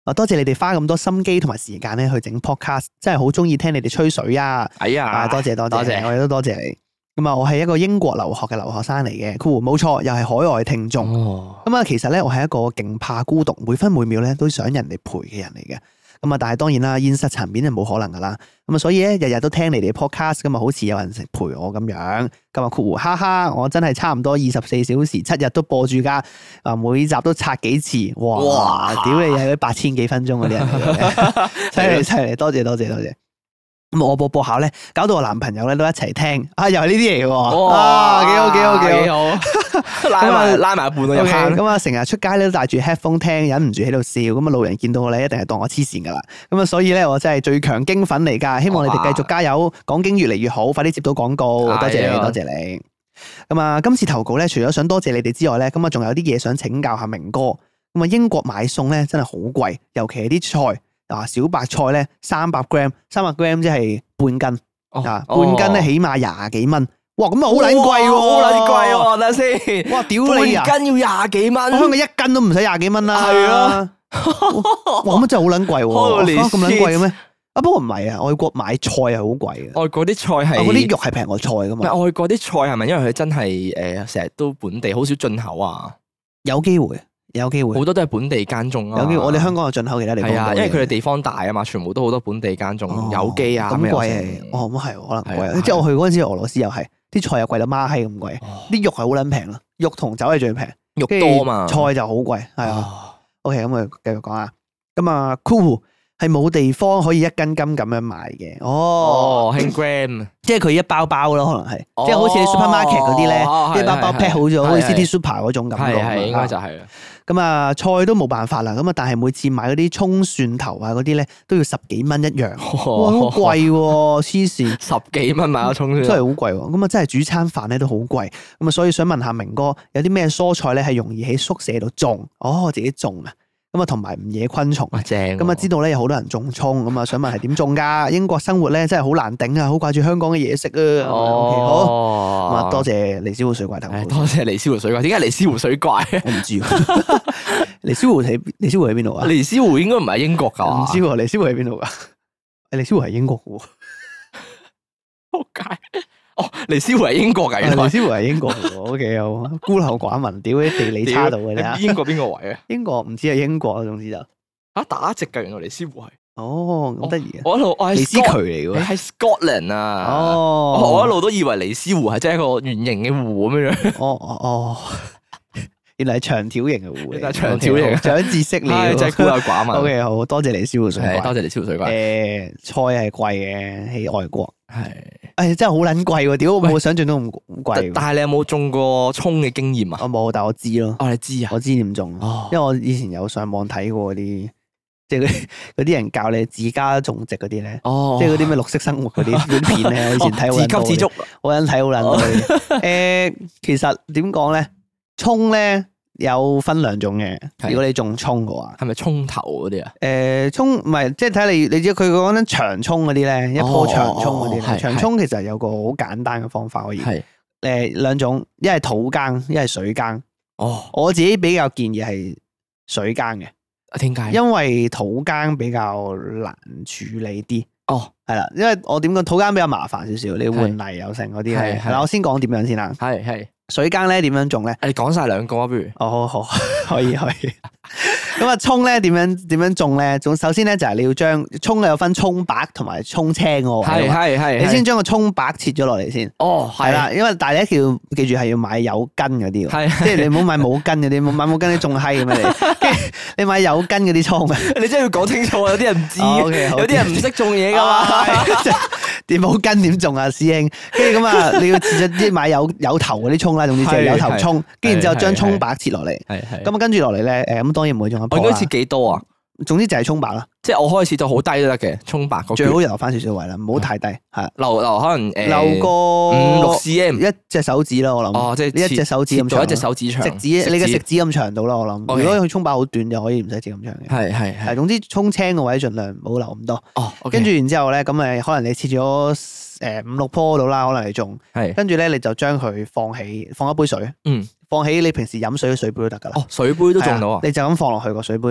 啊，多謝你哋花咁多心機同埋時間咧去整 podcast，真係好中意聽你哋吹水啊！ 哎呀， 啊，多謝多謝， 多謝我哋都多謝你。咁啊，我係一個英國留學嘅留學生嚟嘅，酷，冇錯，又係海外聽眾。咁啊、哦，其實咧，我係一個勁怕孤獨，每分每秒咧都想人哋陪嘅人嚟嘅。咁啊，但係當然啦，現實層面係冇可能噶啦。咁啊，所以咧，日日都聽你哋 podcast，咁啊，好似有人陪我咁樣。咁啊，酷，哈哈，我真係差唔多二十四小時七日都播住噶。啊，每集都刷幾次，哇！哇屌你係八千幾分鐘嗰啲人嚟嘅，犀利犀利，多謝多謝多謝。咁我播播下咧，搞到我男朋友咧都一齊聽，啊又係呢啲嚟嘅喎，啊幾好幾好幾好， 拉埋拉埋一半都入坑。 咁啊成日出街咧都戴住 headphone 聽，忍唔住喺度笑，咁啊路人見到我咧一定係當我黐線噶啦。咁啊所以咧我真係最強經粉嚟噶，希望你哋繼續加油，講經越嚟越好，快啲接到廣告，多謝你多謝你。咁啊今次投稿咧，除咗想多謝你哋之外咧，咁啊仲有啲嘢想請教下明哥。咁啊英國買餸咧真係好貴，尤其係啲菜。啊，小白菜咧三百 gram， 三百 gram 即係半斤，啊、哦、半斤咧起碼廿幾蚊，哇咁啊好撚貴喎， 好撚貴喎，等下先， 哇屌你啊， 半斤要廿幾蚊， 香港一斤都唔使廿幾蚊啦， 係啊， 哇咁真係好撚貴喎，咁撚貴嘅咩？啊不過唔係啊，外國買菜係好貴嘅， 外國啲菜係， 嗰啲肉係平過菜噶嘛， 外國啲菜係咪因為佢真係誒成日都本地，好少進口啊？ 有機會。有機會， 好多都係本地耕種啊！ 有機會，我哋香港有進口其他地方。係啊， 因為佢哋地方大啊嘛，全部都好多本地耕種，有機啊咁貴。哦，咁係可能貴。即係我去嗰陣時，俄羅斯又係啲菜又貴到孖閪咁貴，啲肉係好撚平咯，肉同酒係最平， 肉多嘛， 菜就好貴。係啊。OK，咁我繼續講啊。咁啊 ，cool 係冇地方可以一斤斤咁樣賣嘅。哦， 輕 gram， 即係佢一包包咯，可能係，即係好似你 supermarket 嗰啲咧，一包包 pack 好咗，好似 City Super 嗰種感覺。 係應該就係啦。 咁啊，菜都冇辦法啦。咁啊，但係每次買嗰啲葱蒜頭啊嗰啲咧，都要十幾蚊一樣，哇，好貴喎！黐線， 十幾蚊買個葱蒜， 真係好貴喎。咁啊，真係煮餐飯咧都好貴。咁啊，所以想問下明哥，有啲咩蔬菜咧係容易喺宿舍度種？哦，自己種啊。咁啊，同埋唔惹昆蟲。 正。 咁啊，知道咧有好多人種葱，咁啊，想問係點種㗎？英國生活咧真係好難頂啊，好掛住香港嘅嘢食啊。哦，好。咁啊，多謝尼斯湖水怪頭。 多謝尼斯湖水怪。點解尼斯湖水怪？ 我唔知。尼斯湖喺尼斯湖喺邊度啊？ 尼斯湖應該唔係英國㗎。 唔知喎，尼斯湖喺邊度㗎？誒，尼斯湖係英國嘅喎。 仆街。哦，尼斯湖係英國㗎，原來尼斯湖係英國嘅喎。O K，好，孤陋寡聞，屌啲地理差到嘅啫。 英國邊個位啊？ 英國唔知係英國啊，總之就嚇打直㗎，原來尼斯湖係。 哦，咁得意啊！ 我一路我係尼斯渠嚟嘅喎， 係 Scotland 啊。 哦， 我一路都以為尼斯湖係真係一個圓形嘅湖咁樣。 哦哦哦，原來係長條形嘅湖嚟， 長條形， 長知識嚟， 真係孤陋寡聞。 O K，好多謝尼斯湖水怪， 多謝尼斯湖水怪。 誒，菜係貴嘅喺外國。 係， 誒真係好撚貴喎！屌，我冇想象到咁貴。 但係你有冇種過葱嘅經驗啊？ 我冇，但我知咯。 哦，你知啊？ 我知點種，因為我以前有上網睇過嗰啲，即係嗰啲人教你自家種植嗰啲咧。哦，即係嗰啲咩綠色生活嗰啲嗰啲片咧，我以前睇好撚多。自給自足，我撚睇好撚多。誒，其實點講咧？葱咧有分兩種嘅。如果你種葱嘅話， 係咪葱頭嗰啲啊？ 誒，葱唔係，即係睇你，你知佢講緊長葱嗰啲咧，一棵長葱嗰啲咧，長葱其實有個好簡單嘅方法可以。係誒兩種，一係土耕，一係水耕。哦，我自己比較建議係水耕嘅。 點解？因為土耕比較難處理啲。 哦， 係啦，因為我點講土耕比較麻煩少少，你換泥有剩嗰啲係。係啦，我先講點樣先啦。係係。水耕咧點樣種咧？ 你講晒兩個啊，不如？ 哦，好，好，可以，可以。咁啊，葱咧點樣點樣種咧？總首先咧就係你要將葱有分葱白同埋葱青嘅。係係係。你先將個葱白切咗落嚟先。哦，係啦，因為但係你一定要記住係要買有根嗰啲。係。即係你唔好買冇根嗰啲，買冇根啲種閪咁樣嚟。跟住你買有根嗰啲葱。 你真係要講清楚，有啲人唔知，有啲人唔識種嘢噶嘛。點冇根點種啊，師兄？跟住咁啊，你要切咗啲買有有頭嗰啲葱啦，總之就係有頭葱，跟住之後將葱白切落嚟。係係。咁啊，跟住落嚟咧，誒，咁當然唔會種一樖啦。 我應該切幾多啊？ 總之就係葱白啦， 即係我開始到好低都得嘅，葱白最好留翻少少位啦，唔好太低，係留留可能誒留個五六 cm 一隻手指啦，我諗。哦，即係一隻手指咁長， 一隻手指長， 食指你嘅食指咁長到啦，我諗。如果佢葱白好短就可以唔使切咁長嘅。係係係。總之葱青嘅位盡量唔好留咁多。哦。跟住然之後咧，咁誒可能你切咗誒五六棵到啦，可能你種。係。跟住咧，你就將佢放起，放一杯水。嗯。放喺你平時飲水嘅水杯都得噶啦。 哦，水杯都種到啊！ 你就咁放落去個水杯度。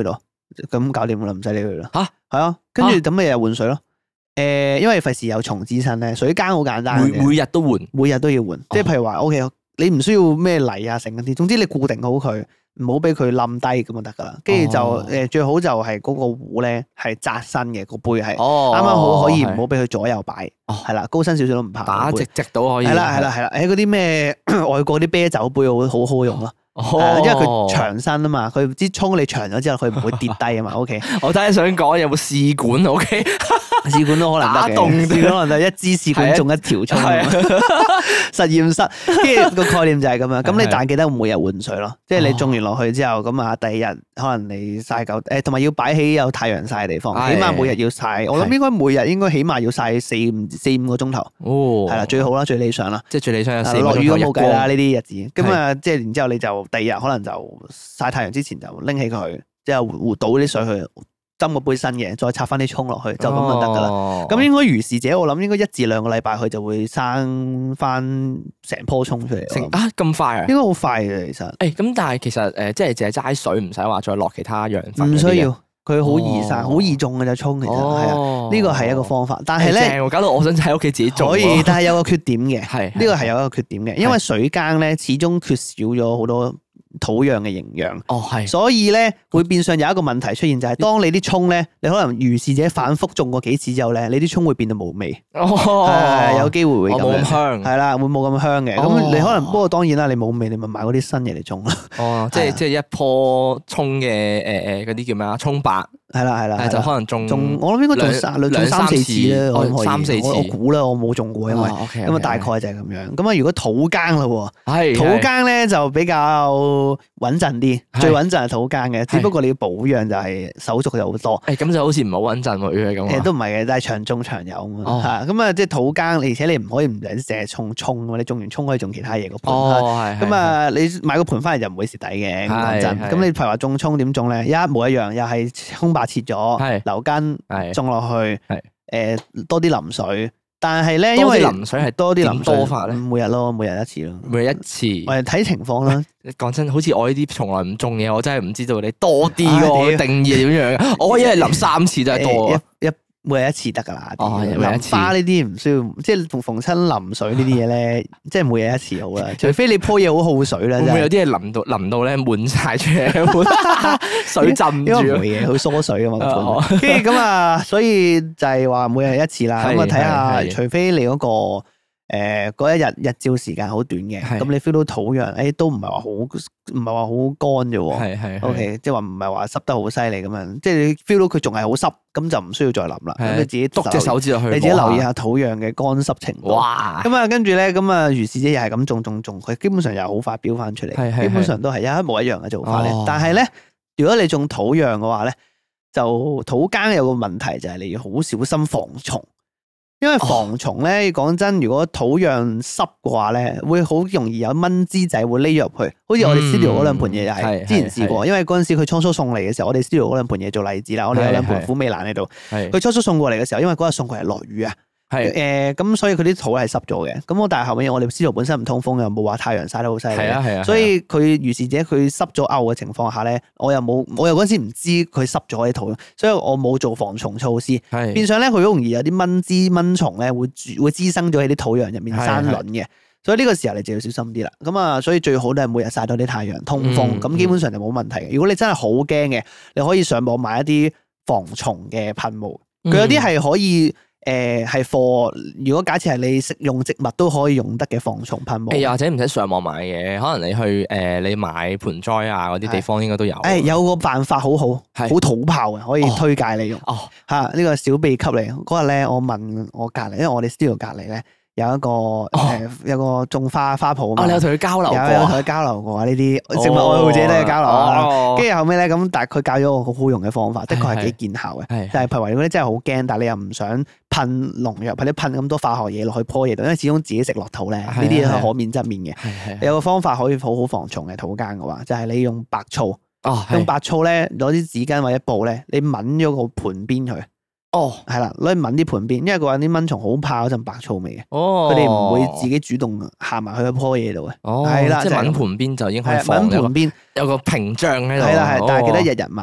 咁搞掂啦，唔使理佢啦。 吓係啊，跟住咁咪日日換水咯。誒，因為費事有蟲滋生咧，水耕好簡單嘅， 每每日都換， 每日都要換。即係譬如話 ，O K，你唔需要咩泥啊，成嗰啲，總之你固定好佢。唔好俾佢冧低咁就得噶啦，跟住就誒最好就係嗰個壺咧係窄身嘅，個杯係啱啱好可以唔好俾佢左右擺，係啦，高身少少都唔怕， 打直直到可以。 係啦係啦係啦，誒嗰啲咩外國啲啤酒杯好好好用咯，因為佢長身啊嘛，佢支沖你長咗之後佢唔會跌低啊嘛。O K， 我睇下想講有冇試管 O K， 試管都可能得嘅，試管可能就一支試管中一條沖，實驗室，跟住個概念就係咁樣。咁你但係記得每日換水咯，即係你種完落去之後，咁啊第二日可能你曬夠誒，同埋要擺喺有太陽曬嘅地方，起碼每日要曬。我諗應該每日應該起碼要曬四五四五個鐘頭，係啦，最好啦，最理想啦， 即係最理想有四落雨都冇計啦呢啲日子。咁啊，即係然之後你就第二日可能就曬太陽之前就拎起佢，之後倒啲水去。斟個杯新嘅，再插翻啲蔥落去，就咁就得噶啦。咁、哦、應該如是者，我諗應該一至兩個禮拜佢就會生翻成棵蔥出嚟。 啊，咁快啊？ 應該好快嘅其實。誒、 欸，咁但係其實誒，即係淨係齋水，唔使話再落其他養分。 唔需要，佢好易生，好、哦、易種嘅就蔥，其實係啊。呢個係一個方法，但係咧， 搞到我想喺屋企自己種。 可以，但係有個缺點嘅， 係呢個係有一個缺點嘅，因為水耕咧始終缺少咗好多土壤嘅營養， 哦係， 所以咧會變相有一個問題出現，就係當你啲蔥咧，你可能如是者反覆種過幾次之後咧，你啲蔥會變到冇味，係有機會會咁香， 係啦，會冇咁香嘅。咁你可能不過當然啦，你冇味，你咪買嗰啲新嘢嚟種咯。 哦，即係即係一棵蔥嘅誒誒嗰啲叫咩啊？蔥白係啦係啦， 就可能種種我諗應該種三兩三四次啦，我諗可以。 三四次， 我估啦，我冇種過，因為咁啊大概就係咁樣。咁啊如果土耕啦，係土耕咧就比較穩陣啲，最穩陣係土耕嘅，只不過你要保養就係手續就好多。 誒，咁就好似唔係好穩陣喎，如果係咁。誒， 都唔係嘅，但係長種長有啊嘛。嚇，咁啊，即係土耕，而且你唔可以唔淨係種葱啊嘛，你種完葱可以種其他嘢個盤。哦，係。咁啊，你買個盤翻嚟就唔會蝕底嘅，講真。咁你譬如話種葱點種咧？一模一樣，又係葱白切咗，留根，種落去，誒多啲淋水。但係咧，因為淋水係多啲淋多法咧， 每日咯，每日一次咯， 每日一次。我哋睇情況啦。 講真，好似我呢啲從來唔種嘢，我真係唔知道你多啲個定義係點樣。我一日淋三次真係多啊！一每日一次得噶啦。哦，淋花呢啲唔需要，即係逢逢親淋水呢啲嘢咧，即係每日一次好啦。除非你樖嘢好耗水啦，會唔會有啲係淋到淋到咧滿晒出嚟，水浸住？ 因為梅嘢好疏水噶嘛，跟住咁啊，所以就係話每日一次啦。咁啊，睇下，除非你嗰個。誒，嗰一日日照時間好短嘅，咁你 feel 到土壤，誒都唔係話好，唔係話好乾啫喎。係係。O K，即係話唔係話濕得好犀利咁樣，即係你 feel 到佢仲係好濕，咁就唔需要再淋啦。咁你自己篤隻手指落去，你自己留意下土壤嘅乾濕程度。哇！咁啊，跟住咧，咁啊，如是者又係咁種種種，佢基本上又好快飆翻出嚟，基本上都係一模一樣嘅做法咧。但係咧，如果你種土壤嘅話咧，就土耕有個問題就係你要好小心防蟲。因為防蟲咧，講真，如果土壤濕嘅話咧，會好容易有蚊滋仔會匿入去。好似我哋 studio 嗰兩盤嘢又係，之前試過。因為嗰陣時佢初初送嚟嘅時候，我哋 studio 嗰兩盤嘢做例子啦。我哋有兩盤虎尾蘭喺度，佢初初送過嚟嘅時候，因為嗰日送過嚟落雨啊。係誒，咁所以佢啲土係濕咗嘅。咁我但係後尾我哋 studio 本身唔通風，又冇話太陽曬得好犀利。係啊係啊。所以佢如是者佢濕咗漚嘅情況下咧，我又冇，我又嗰陣時唔知佢濕咗啲土，所以我冇做防蟲措施。係。變相咧，佢好容易有啲蚊滋蚊蟲咧，會會滋生咗喺啲土壤入面生卵嘅。所以呢個時候你就要小心啲啦。咁啊，所以最好都係每日曬多啲太陽，通風，咁基本上就冇問題嘅。如果你真係好驚嘅，你可以上網買一啲防蟲嘅噴霧，佢有啲係可以。誒，係貨。如果假設係你食用植物都可以用得嘅防蟲噴霧， 又或者唔使上網買嘅，可能你去誒，你買盆栽啊嗰啲地方應該都有。 誒，有個辦法好好，好土炮嘅，可以推介你用。哦，吓呢個小秘笈嚟。嗰日咧，我問我隔籬，因為我哋 studio 隔籬咧有一個誒，有個種花花圃啊嘛。你有同佢交流過？有有同佢交流過啊？呢啲植物愛好者都有交流啊。跟住後尾咧，咁但係佢教咗我個好用嘅方法，的確係幾見效嘅。係，但係譬如話如果你真係好驚，但係你又唔想噴農藥或者噴咁多化學嘢落去棵嘢度，因為始終自己食落肚咧，呢啲係可免則免嘅。係係。有個方法可以好好防蟲嘅土耕嘅話，就係你用白醋。哦。用白醋咧，攞啲紙巾或者布咧，你抿咗個盤邊佢。哦，係啦，攞去抿啲盤邊，因為佢話啲蚊蟲好怕嗰陣白醋味嘅。哦，佢哋唔會自己主動行埋去嗰棵嘢度嘅。哦，係啦，即係抿盤邊就已經可以防。抿盤邊有個屏障喺度。係啦係，但係記得日日抿，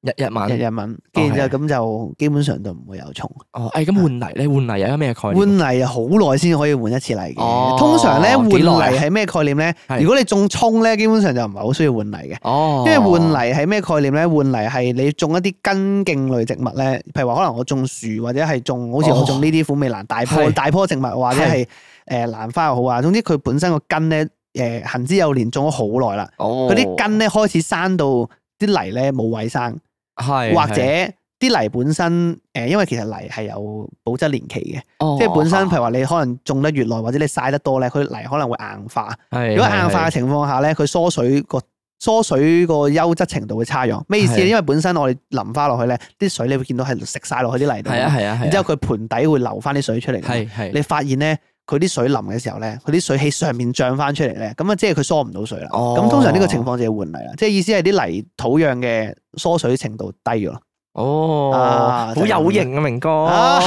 日日文， 日日文，跟住之後咁就基本上都唔會有蟲。 哦，誒咁換泥咧，換泥有啲咩概念？ 換泥好耐先可以換一次泥嘅。 哦通常咧換幾耐啊泥係咩概念咧？ 係如果你種葱咧，基本上就唔係好需要換泥嘅。 哦， 因為換泥係咩概念咧？換泥係你種一啲根莖類植物咧，譬如話可能我種樹或者係種好似我種呢啲虎尾蘭大棵係大棵植物，或者係誒蘭花又好啊。總之佢本身個根咧誒行之有年，種咗好耐啦。 哦， 嗰啲根咧開始生到啲泥咧冇位生， 係或者啲泥本身誒，因為其實泥係有保質年期嘅， 哦即係本身譬如話你可能種得越耐，或者你曬得多咧，佢泥可能會硬化。 係如果硬化嘅情況下咧，佢疏水個疏水個優質程度會差咗。咩意思咧？ 係因為本身我哋淋花落去咧，啲水你會見到係食晒落去啲泥度， 係啊係啊係啊， 然之後佢盆底會流翻啲水出嚟。 係係你發現咧，佢啲水淋嘅時候咧，佢啲水喺上面漲翻出嚟咧，咁啊即係佢疏唔到水啦。 哦咁通常呢個情況就要換泥啦，即係意思係啲泥土壤嘅疏水程度低咗。 哦， 啊好有型啊，明哥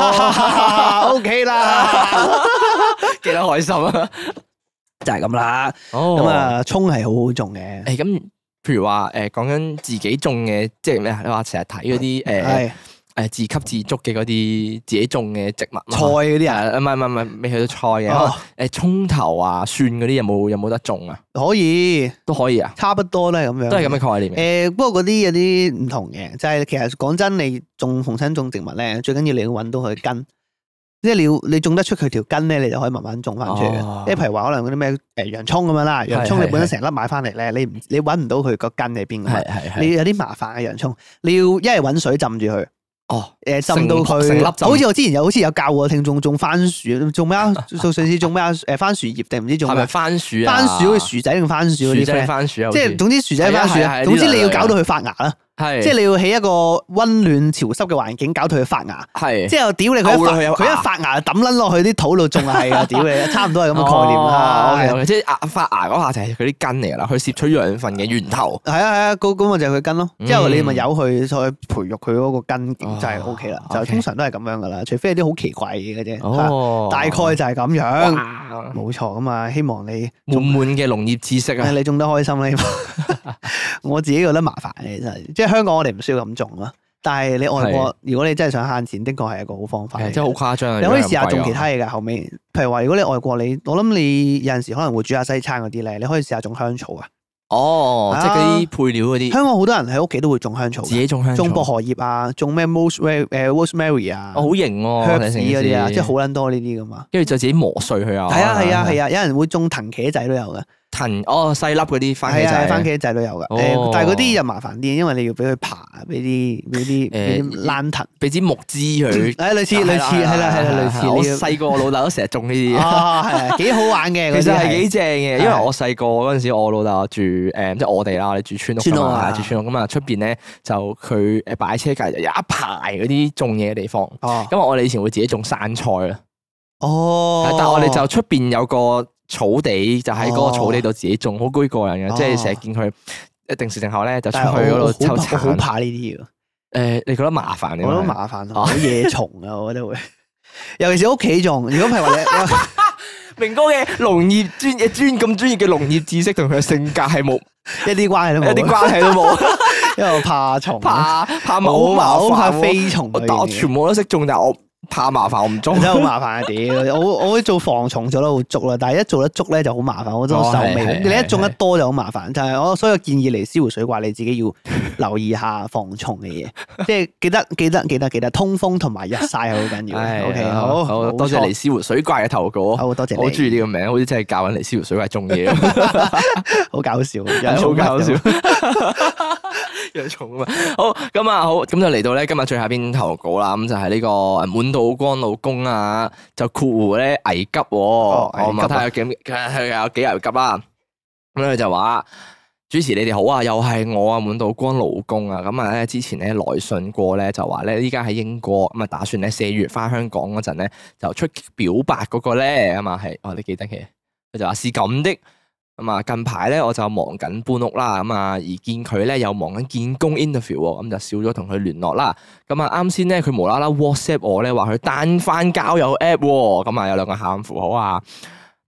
，O K 啦， 幾得開心啊！ 就係咁啦。 哦， 咁啊，葱係好好種嘅， 誒咁，譬如話誒講緊自己種嘅，即係咩啊？你話成日睇嗰啲誒係誒自給自足嘅嗰啲自己種嘅植物菜嗰啲啊， 啊，唔係唔係唔係，未去到菜嘅， 哦誒葱頭啊、蒜嗰啲有冇有冇得種啊？ 可以都可以啊， 差不多都係咁樣， 都係咁嘅概念嘅。 誒，不過嗰啲有啲唔同嘅，就係其實講真，你種逢親種植物咧，最緊要你要揾到佢根，即係你要你種得出佢條根咧，你就可以慢慢種翻出嚟哦嘅。即係譬如話可能嗰啲咩誒洋葱咁樣啦，洋葱係你本身成粒買翻嚟咧，你唔你揾唔到佢個根喺邊㗎嘛係係係。 你有啲麻煩嘅洋葱，你要一係揾水浸住佢。 哦， 誒浸到佢， 成粒浸好似我之前有好似有教過聽眾種番薯，種咩啊？做上次種咩啊？誒番薯葉定唔知種咩係咪？番薯啊？ 番薯好似薯仔定番薯嗰啲薯仔 friend， 番薯啊？ 即係總之薯仔番薯係啊係啊啊。總之你要呢兩樣搞到佢發芽啦， 係即係你要喺一個温暖潮濕嘅環境搞到佢發芽。 係之後屌你佢一發勾到佢有佢一芽發芽抌撚落去啲土度種係啊！屌你，差唔多係咁嘅概念哦啦。 ，OK，即係芽發芽嗰下就係佢啲根嚟㗎啦，佢攝取養分嘅源頭。 係啊係啊，嗰嗰個就係佢根咯。之後你咪嗯由佢再培育佢嗰個根哦就係 O K 啦。就 OK 通常都係咁樣噶啦，除非係啲好奇怪嘅嘢嘅啫。 哦， 大概就係咁樣， 哇冇錯咁啊！希望你滿滿嘅農業知識啊！ 你種得開心咧。我自己覺得麻煩嘅真係，即係香港我哋唔需要咁種咯。但係你外國，如果你真係想慳錢，的確係一個好方法嚟嘅。 係真係好誇張啊！ 你可以試下種其如果他嘢㗎。後尾，譬如話，如果你外國你，我諗你有陣時可能會煮下西餐嗰啲咧，你可以試下種香草啊。 哦， 啊即係嗰啲配料嗰啲， 香港好多人喺屋企都會種香草㗎， 自己種香草， 種薄荷葉啊，種咩 rosemary 誒 rosemary 啊哦，好型喎， ，herbs 睇成嗰啲啊， 件事即係好撚多呢啲㗎嘛。 跟住就自己磨碎佢啊！ 係啊係啊係啊，有人會種藤茄仔都有㗎。 藤哦細粒嗰啲番茄係啊， 仔， 番茄仔都有噶。 哦誒，但係嗰啲又麻煩啲，因為你要俾佢爬，俾啲俾啲俾啲誒爛藤。 俾支木枝佢。 誒，類似類似係啦係啦，類似我呢細個我老豆都成日種呢啲。 啊，係啊，幾好玩嘅。 其實係嗰啲幾正嘅，因為我細個嗰陣時，我老豆住誒，即係我哋啦，我哋住村屋㗎嘛， 村屋啊住村屋咁啊，出邊咧就佢誒擺車隔離就有一排嗰啲種嘢嘅地方。 哦咁我哋以前會自己種生菜啦， 哦， 但係我哋就出邊有個草地，就喺嗰個草地度自己種，好居過人嘅，即係成日見佢一定時定候咧就出去但係我嗰度抽我好我好橙。 怕呢啲嘅， 誒，你覺得麻煩嘅？ 我覺得麻煩，好野蟲啊，我覺得會。尤其是屋企種，如果譬如話你明哥嘅農業專嘅專咁專業嘅農業知識同佢嘅性格係冇一啲關係都冇， 一啲關係都冇， 因為我怕蟲， 怕怕好冇麻好怕煩喎。 飛蟲我但我嗰啲嘢。 全部都識種，但係我怕麻煩，我唔種。 真係好麻煩啊！屌，我我會做防蟲做得好足啦，但係一做得足咧就好麻煩，我真係手哦係尾。 係你一種得多就好麻煩，就係我所有建議嚟燒湖水怪，你自己要留意下防蟲嘅嘢，即係記得記得記得記得通風同埋日曬係好緊要嘅。O K，好， 好多謝尼斯湖水怪嘅投稿， 好多謝你， 好中意呢個名，好似真係教緊尼斯湖水怪種嘢， 好搞笑， 好搞笑。養蟲啊嘛，好咁啊，好咁就嚟到咧今日最後一篇投稿啦，咁就係呢個滿島光老公啊，就括弧咧危急喎，我危急啊睇下有幾佢有幾危急啦，咁咧佢就話。主持你哋好啊，又係我啊，滿島光老公啊，咁啊咧之前咧來信過咧就話咧依家喺英國咁啊，打算咧四月翻香港嗰陣咧就出表白嗰個咧啊嘛係，哦你記得嘅，佢就話是咁的，咁啊近排咧我就忙緊搬屋啦，咁啊而見佢咧又忙緊見工 interview 喎，咁就少咗同佢聯絡啦，咁啊啱先咧佢無啦啦 WhatsApp 我咧話佢 down 翻交友 app 喎，咁啊有兩個喊符號啊。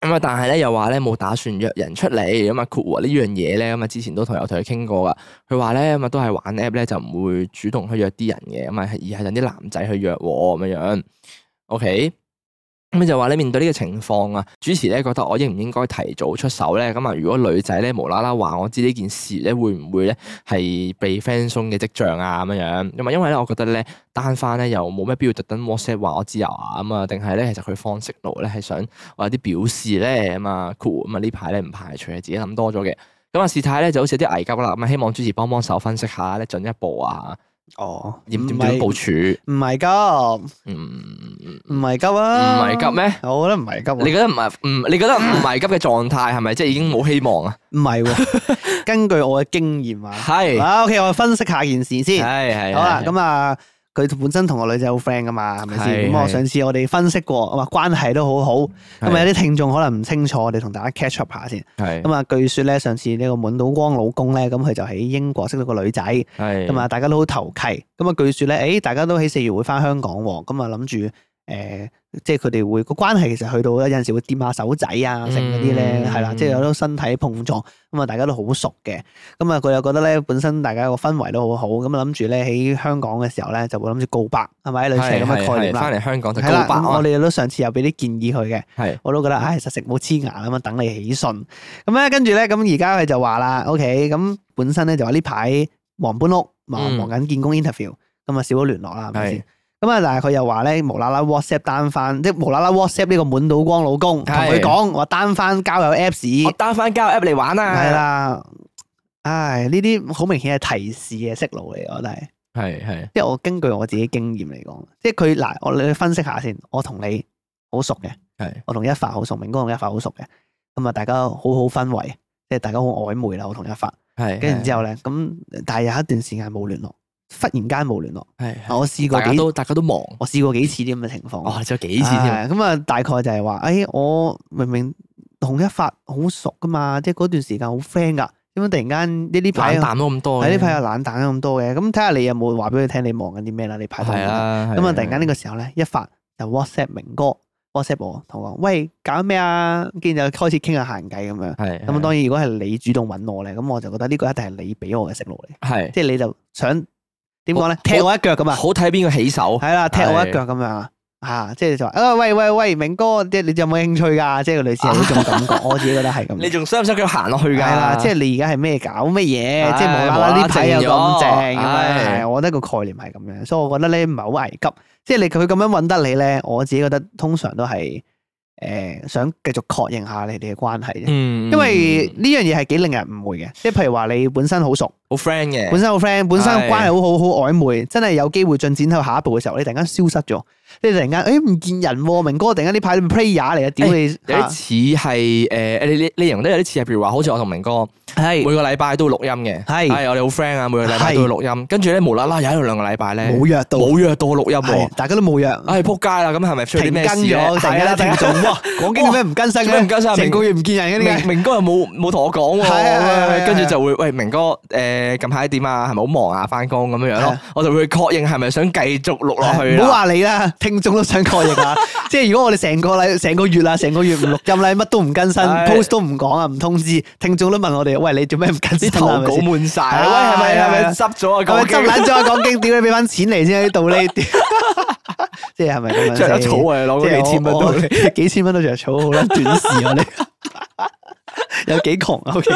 咁啊，但係咧又話咧冇打算約人出嚟，咁啊括弧呢樣嘢咧，咁啊之前都同有同佢傾過噶。佢話咧咁啊都係玩 app 咧就唔會主動去約啲人嘅，咁啊而係等啲男仔去約咁樣樣。OK。咁就話咧面對呢個情況啊，主持咧覺得我應唔應該提早出手咧？咁啊，如果女仔咧無啦啦話我知呢件事咧，會唔會咧係被 friend 鬆嘅跡象啊？咁樣樣咁啊，因為咧我覺得咧單翻咧又冇咩必要特登 WhatsApp 話我知啊，咁啊，定係咧其實佢放 signal 咧係想我有啲表示咧咁啊 cool 咁啊呢排咧唔排除係自己諗多咗嘅。咁啊事態咧就好似有啲危急啦，咁啊希望主持幫幫手分析下咧進一步啊。 哦， 點點點部署？ 唔係急，唔唔係急啊， 唔係急咩？ 我覺得唔係急。 你覺得唔係唔？你覺得唔係急嘅狀態係咪即係已經冇希望啊？ 唔係喎，根據我嘅經驗啊， 係啊 OK，我分析下件事先。 係係好啦，咁啊。佢本身同個女仔好 friend 噶嘛，係咪先？咁我上次我哋分析過，話關係都好好。咁啊有啲聽眾可能唔清楚，我哋同大家 catch up 下先。咁啊，據說咧上次呢個滿島光老公咧，咁佢就喺英國識到個女仔。咁啊，大家都好投契。咁啊，據說咧，誒，大家都喺四月會翻香港喎。咁啊，諗住誒，即係佢哋會個關係其實去到有陣時會掂下手仔啊，成嗰啲咧，係啦，即係有啲身體碰撞。咁啊，大家都好熟嘅。咁啊，佢又覺得咧，本身大家個氛圍都好好。咁啊，諗住咧喺香港嘅時候咧，就會諗住告白，係咪？類似咁嘅概念啦。 翻嚟香港就告白。 我哋都上次有俾啲建議佢嘅。 係。我都覺得，唉，實食冇黐牙咁啊，等你起信。咁咧，跟住咧，咁而家佢就話啦 ，OK，咁本身咧就話呢排忙搬屋，忙忙緊見工 interview，咁啊少咗聯絡啦，係咪先？咁啊，但係佢又話咧，無啦啦 WhatsApp 單翻，即係無啦啦 WhatsApp 呢個滿島光老公，同佢講話單翻交友 Apps， 我單翻交友 App 嚟玩啊！ 係啦，唉，呢啲好明顯係提示嘅息路嚟，我覺得係。 係係， 即係我根據我自己經驗嚟講，即係佢嗱，我你分析下先，我同你好熟嘅， 係， 我同一發好熟，明哥同一發好熟嘅，咁啊，大家好好氛圍，即係大家好曖昧啦，我同一發，係，跟住之後咧，咁但係有一段時間冇聯絡。忽然間冇聯絡，係我試過幾，大家都大家都忙， 我試過幾次啲咁嘅情況。 哦，仲有幾次添。 咁啊，大概就係話，誒，我明明同一發好熟噶嘛，即係嗰段時間好 friend 噶，點解突然間呢啲排冷淡咗咁多？ 喺呢排又冷淡咗咁多嘅，咁睇下你有冇話俾佢聽你忙緊啲咩啦？你排到。係啊。咁啊，突然間呢個時候咧，一發就 WhatsApp 明哥 WhatsApp 我，同我講，喂，搞咩啊？跟住就開始傾下閒偈咁樣。係。咁當然，如果係你主動揾我咧，咁我就覺得呢個一定係你俾我嘅訊號嚟。係。即係你就想。點講咧？踢我一腳咁啊！ 好睇邊個起手？ 係啦，踢我一腳咁樣啊！吓，即係就話啊，喂喂喂，明哥，即係你有冇興趣噶？即係類似係呢種感覺，我自己覺得係咁。 你仲想唔想佢行落去噶？ 係啦，即係你而家係咩搞乜嘢？即係無啦啦呢排又咁正咁樣，我覺得個概念係咁樣，所以我覺得咧唔係好危急。即係你佢咁樣搵得你咧，我自己覺得通常都係。誒，想繼續確認下你哋嘅關係啫，因為呢樣嘢係幾令人誤會嘅，即係譬如話你本身好熟， 好 friend 嘅， 本身好 friend，本身關係好好好曖昧，真係有機會進展到下一步嘅時候，你突然間消失咗，你突然間誒唔見人，明哥突然間呢排 player 嚟啊，屌你， 有啲似係誒，你你你形容得有啲似係，譬如話好似我同明哥係每個禮拜都會錄音嘅，係係我哋好 friend 啊，每個禮拜都會錄音，跟住咧無啦啦有一兩個禮拜咧冇約到， 冇約到錄音， 大家都冇約， 唉撲街啦，咁係咪出咗啲咩事咧？ 係啦，聽眾講經咩唔更新嘅，唔更新，成個月唔見人嘅， 明明哥又冇冇同我講喎，跟住就會喂明哥誒近排點啊？係咪好忙啊？翻工咁樣樣咯，我就會確認係咪想繼續錄落去。唔好話你啦，聽眾都想確認啊！即係如果我哋成個禮成個月啦，成個月唔錄音咧，乜都唔更新 ，post 都唔講啊，唔通知，聽眾都問我哋，喂，你做咩唔更新？ 啲投稿滿晒，喂，係咪係咪執咗啊？ 係咪執爛咗啊？講經，點解俾翻錢嚟先喺度呢？即係係咪咁樣？ 着草啊！攞嗰幾千蚊都， 幾千蚊都着草，好啦，短視我哋有幾窮啊？O K，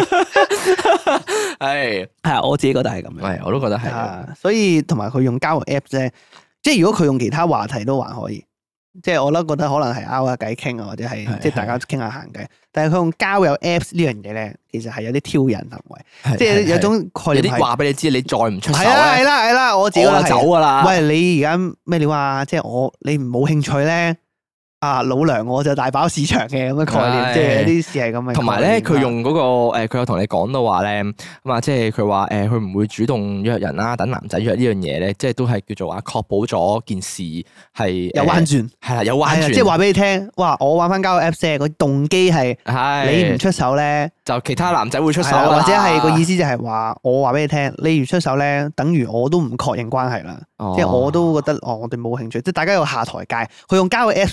係係我自己覺得係咁樣， 係我都覺得係， 所以同埋佢用交友 app 啫，即係如果佢用其他話題都還可以。即係我都覺得可能係拗下偈傾啊，或者係即係大家傾下閒偈。但係佢用交友 Apps 呢樣嘢咧，其實係有啲挑釁行為，即係有種概念係。有啲話俾你知，你再唔出手咧， 係啦係啦係啦，我自己我就走噶啦。 喂，你而家咩料啊？即係我你唔冇興趣咧？啊，老娘我就大飽市場嘅咁嘅概念，即係有啲事係咁嘅。 同埋咧，佢用嗰個誒，佢有同你講到話咧，咁啊，即係佢話誒，佢唔會主動約人啦，等男仔約呢樣嘢咧，即係都係叫做話確保咗件事係有彎轉， 係啦，有彎轉， 即係話俾你聽，哇！我玩翻交友 Apps 啫，個動機係你唔出手咧， 就其他男仔會出手， 或者係個意思就係話，我話俾你聽，你唔出手咧，等於我都唔確認關係啦，即係我都覺得哦，我哋冇興趣，即係大家有下台階。佢用交友 Apps 呢招其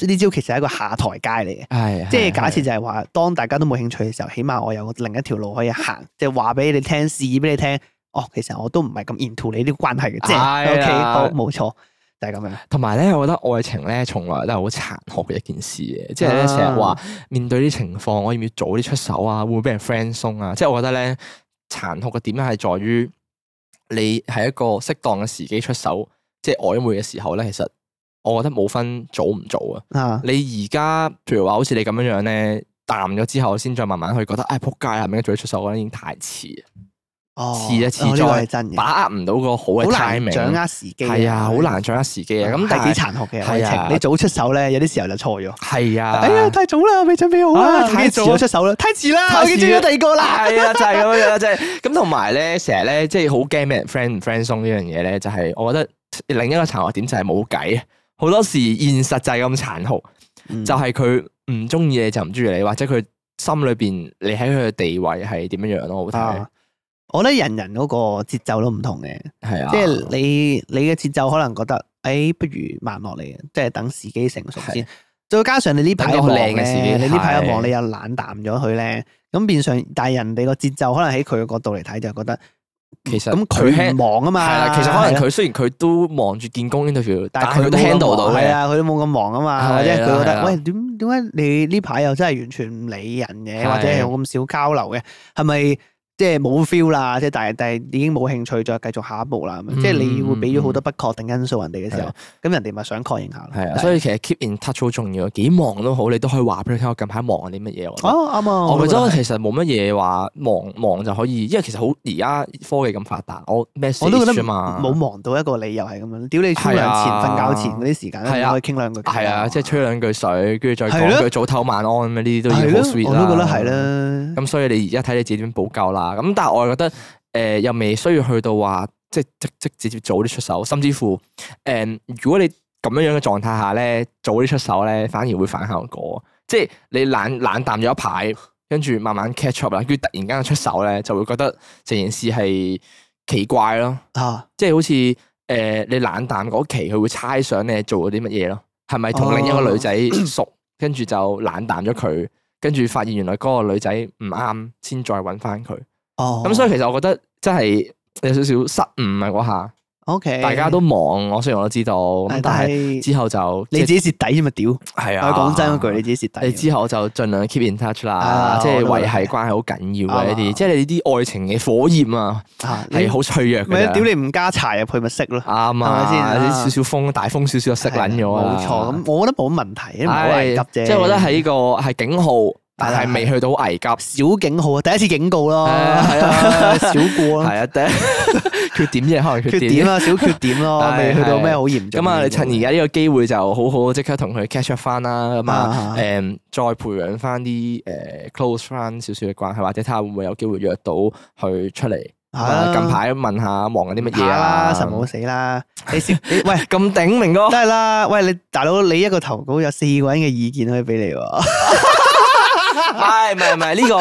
實係一個下台階嚟嘅。 係即係假設就係話，當大家都冇興趣嘅時候，起碼我有另一條路可以行，即係話俾你聽，試俾你聽。哦，其實我都唔係咁 into 你呢個關係嘅，即係 OK，好冇錯，就係咁樣。 同埋咧，我覺得愛情咧，從來都係好殘酷嘅一件事嘅，即係咧成日話面對啲情況，我要唔要早啲出手啊？會唔會俾人 friend 鬆啊？即係我覺得咧，殘酷嘅點係在於你係一個適當嘅時機出手，即係曖昧嘅時候咧，其實我覺得冇分早唔早啊。你而家譬如話好似你咁樣樣咧，淡咗之後先再慢慢去覺得，唉，仆街啦，係咪應該早啲出手？我覺得已經太遲。遲一次再把握唔到個好嘅 timing， 掌握時機係啊，好難掌握時機啊。咁係幾殘酷嘅愛情，你早出手咧，有啲時候就錯咗。 係啊， 哎呀，太早啦，我未準備好啊，太遲咗出手啦，太遲啦，我已經追咗第二個啦。 係啊，就係咁樣樣，即係咁。同埋咧，成日咧，即係好驚俾人 friend 唔 friend 鬆呢樣嘢咧，就係我覺得另一個殘酷點就係冇計。好多時現實就係咁殘酷，就係佢唔中意你就唔中意你，或者佢心裏邊你喺佢嘅地位係點樣樣咯，好睇。 我覺得人人嗰個節奏都唔同嘅， 係啊， 即係你你嘅節奏可能覺得，誒，不如慢落嚟，即係等時機成熟先。再加上你呢排忙咧，你呢排一忙，你又冷淡咗佢咧，咁變相，但係人哋個節奏可能喺佢嘅角度嚟睇，就覺得其實咁佢唔忙啊嘛。 係啦，其實可能佢雖然佢都忙住見工 interview，但係佢都 handle 到嘅。係啊，佢都冇咁忙啊嘛，或者佢覺得，喂，點點解你呢排又真係完全唔理人嘅，或者係咁少交流嘅，係咪？即係冇 feel 啦，即係但係但係已經冇興趣再繼續下一步啦。咁、嗯、即係你會俾咗好多不確定因素人哋嘅時候，咁、嗯、人哋咪想確認下。 係啊，所以其實 keep in touch 好重要，幾忙都好，你都可以話俾佢聽我近排忙緊啲乜嘢。 哦，啱啊！ 我覺得其實冇乜嘢話忙忙就可以，因為其實好而家科技咁發達，我 message 我都覺得啫嘛， 冇忙到一個理由係咁樣。屌你沖涼前、瞓覺前嗰啲時間咧，可以傾兩句。 係啊，即係吹兩句水，跟住再講句早唞晚安咁呢啲都已經好 sweet 啦。 我都覺得係啦。 咁所以你而家睇你自己點補救啦。咁但係我覺得。誒、呃，又未需要去到話，即係即即直接早啲出手，甚至乎，誒、呃，如果你咁樣樣嘅狀態下咧，早啲出手咧，反而會反效果。即係你冷冷淡咗一排，跟住慢慢 catch up 啦，跟住突然間出手咧，就會覺得成件事係奇怪咯。啊，即係好似誒、呃，你冷淡嗰期，佢會猜想你係做咗啲乜嘢咯？係咪同另一個女仔熟，跟住就冷淡咗佢，跟住發現原來嗰個女仔唔啱，先再搵翻佢。哦，咁所以其實我覺得真係有少少失誤啊嗰下。O K， 大家都忙，我雖然我都知道，咁但係之後就你自己蝕底啫嘛，屌。係啊， 講真嗰句，你自己蝕底。 你之後就盡量 keep in touch 啦，即係維繫關係好緊要嘅呢啲，即係你啲愛情嘅火焰啊，係好脆弱嘅。 咪屌你唔加柴入去咪熄咯， 啱啊，係咪先？啲少少風，大風少少就熄撚咗啊。 冇錯，咁我覺得冇乜問題，唔好危急啫。 即係我覺得係呢個係警號。但係未去到危急， 小警號啊！第一次警告咯，係啊，小過咯， 係啊，第一缺點啫，可能缺點啊，小缺點咯，未去到咩好嚴重。 咁啊，你趁而家呢個機會就好好即刻同佢 catch up 翻啦，咁啊，誒，再培養翻啲誒 close 翻少少嘅關係，或者睇下會唔會有機會約到佢出嚟。近排問下忙緊啲乜嘢啊？ 實冇死啦！你先，喂咁頂明哥， 梗係啦！喂，你大佬，你一個投稿有四個人嘅意見可以俾你喎。 唔係唔係唔係呢個，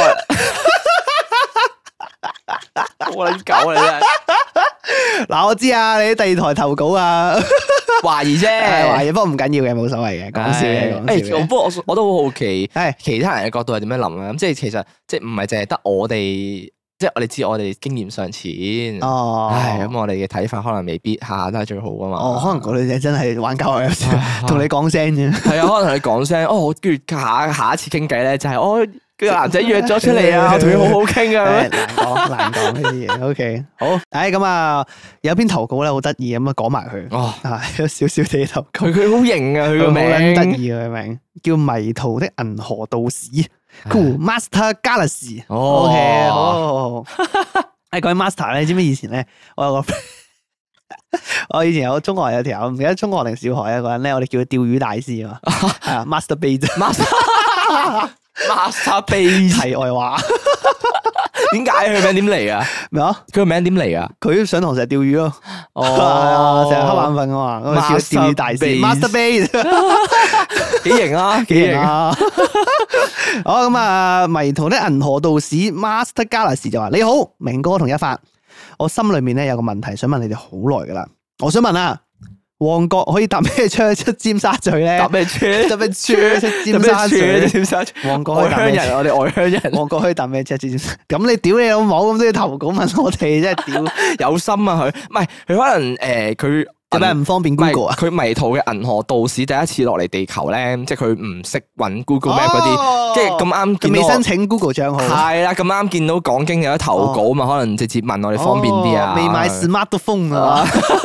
我撚狗嚟啫！ 嗱，我知啊，你第二台投稿啊， 懷疑啫， 懷疑，不過唔緊要嘅，冇所謂嘅，講笑嘅，講笑。 誒，不過我我都好好奇，係其他人嘅角度係點樣諗啊？咁即係其實即係唔係淨係得我哋，即係我哋知我哋經驗尚淺。哦，唉，咁我哋嘅睇法可能未必下下都係最好噶嘛。 哦，可能個女仔真係玩交友有時同你講聲啫。 係啊，可能同你講聲，哦，跟住下下一次傾偈咧，就係我個男仔約咗出嚟啊，我同佢好好傾啊。 難講難講呢啲嘢。O K，好，誒咁啊，有篇投稿咧好得意咁啊，講埋佢。哦，係有少少地投稿。佢佢好型啊，佢個名得意啊，佢名叫迷途的銀河道士。Cool Master Galaxy。O K，好好好。誒，講起 Master 咧，你知唔知以前咧，我有個我以前有中學有條友，唔記得中學定小學一個人咧，我哋叫佢釣魚大師啊嘛。係啊，Master Bait。 Master Bait 題外話， 點解佢名點嚟啊？ 咩啊？ 佢個名點嚟啊？ 佢上堂成日釣魚咯，哦，成日瞌眼瞓啊嘛，咁啊叫釣魚大師 Master Bait， 幾型啊，幾型啊！ 好咁啊，迷途的銀河道士 Master Galaxy 就話：你好，明哥同一發，我心裏面咧有個問題想問你哋好耐噶啦，我想問啊， 旺角可以搭咩車出尖沙咀咧？ 搭咩車？ 搭咩車出尖沙咀？ 尖沙咀。 旺角外鄉人，我哋外鄉人。 旺角可以搭咩車出尖沙咀？咁你屌你老母咁都要投稿問我哋，真係屌有心啊佢，唔係佢可能誒佢。 有咩唔方便 Google 啊？ 佢迷途嘅銀河道士第一次落嚟地球咧，即係佢唔識揾 Google Map 嗰啲，即係咁啱見到未申請 Google 賬號。 係啦，咁啱見到講經有得投稿嘛，可能直接問我哋方便啲啊。 未買 smartphone 啊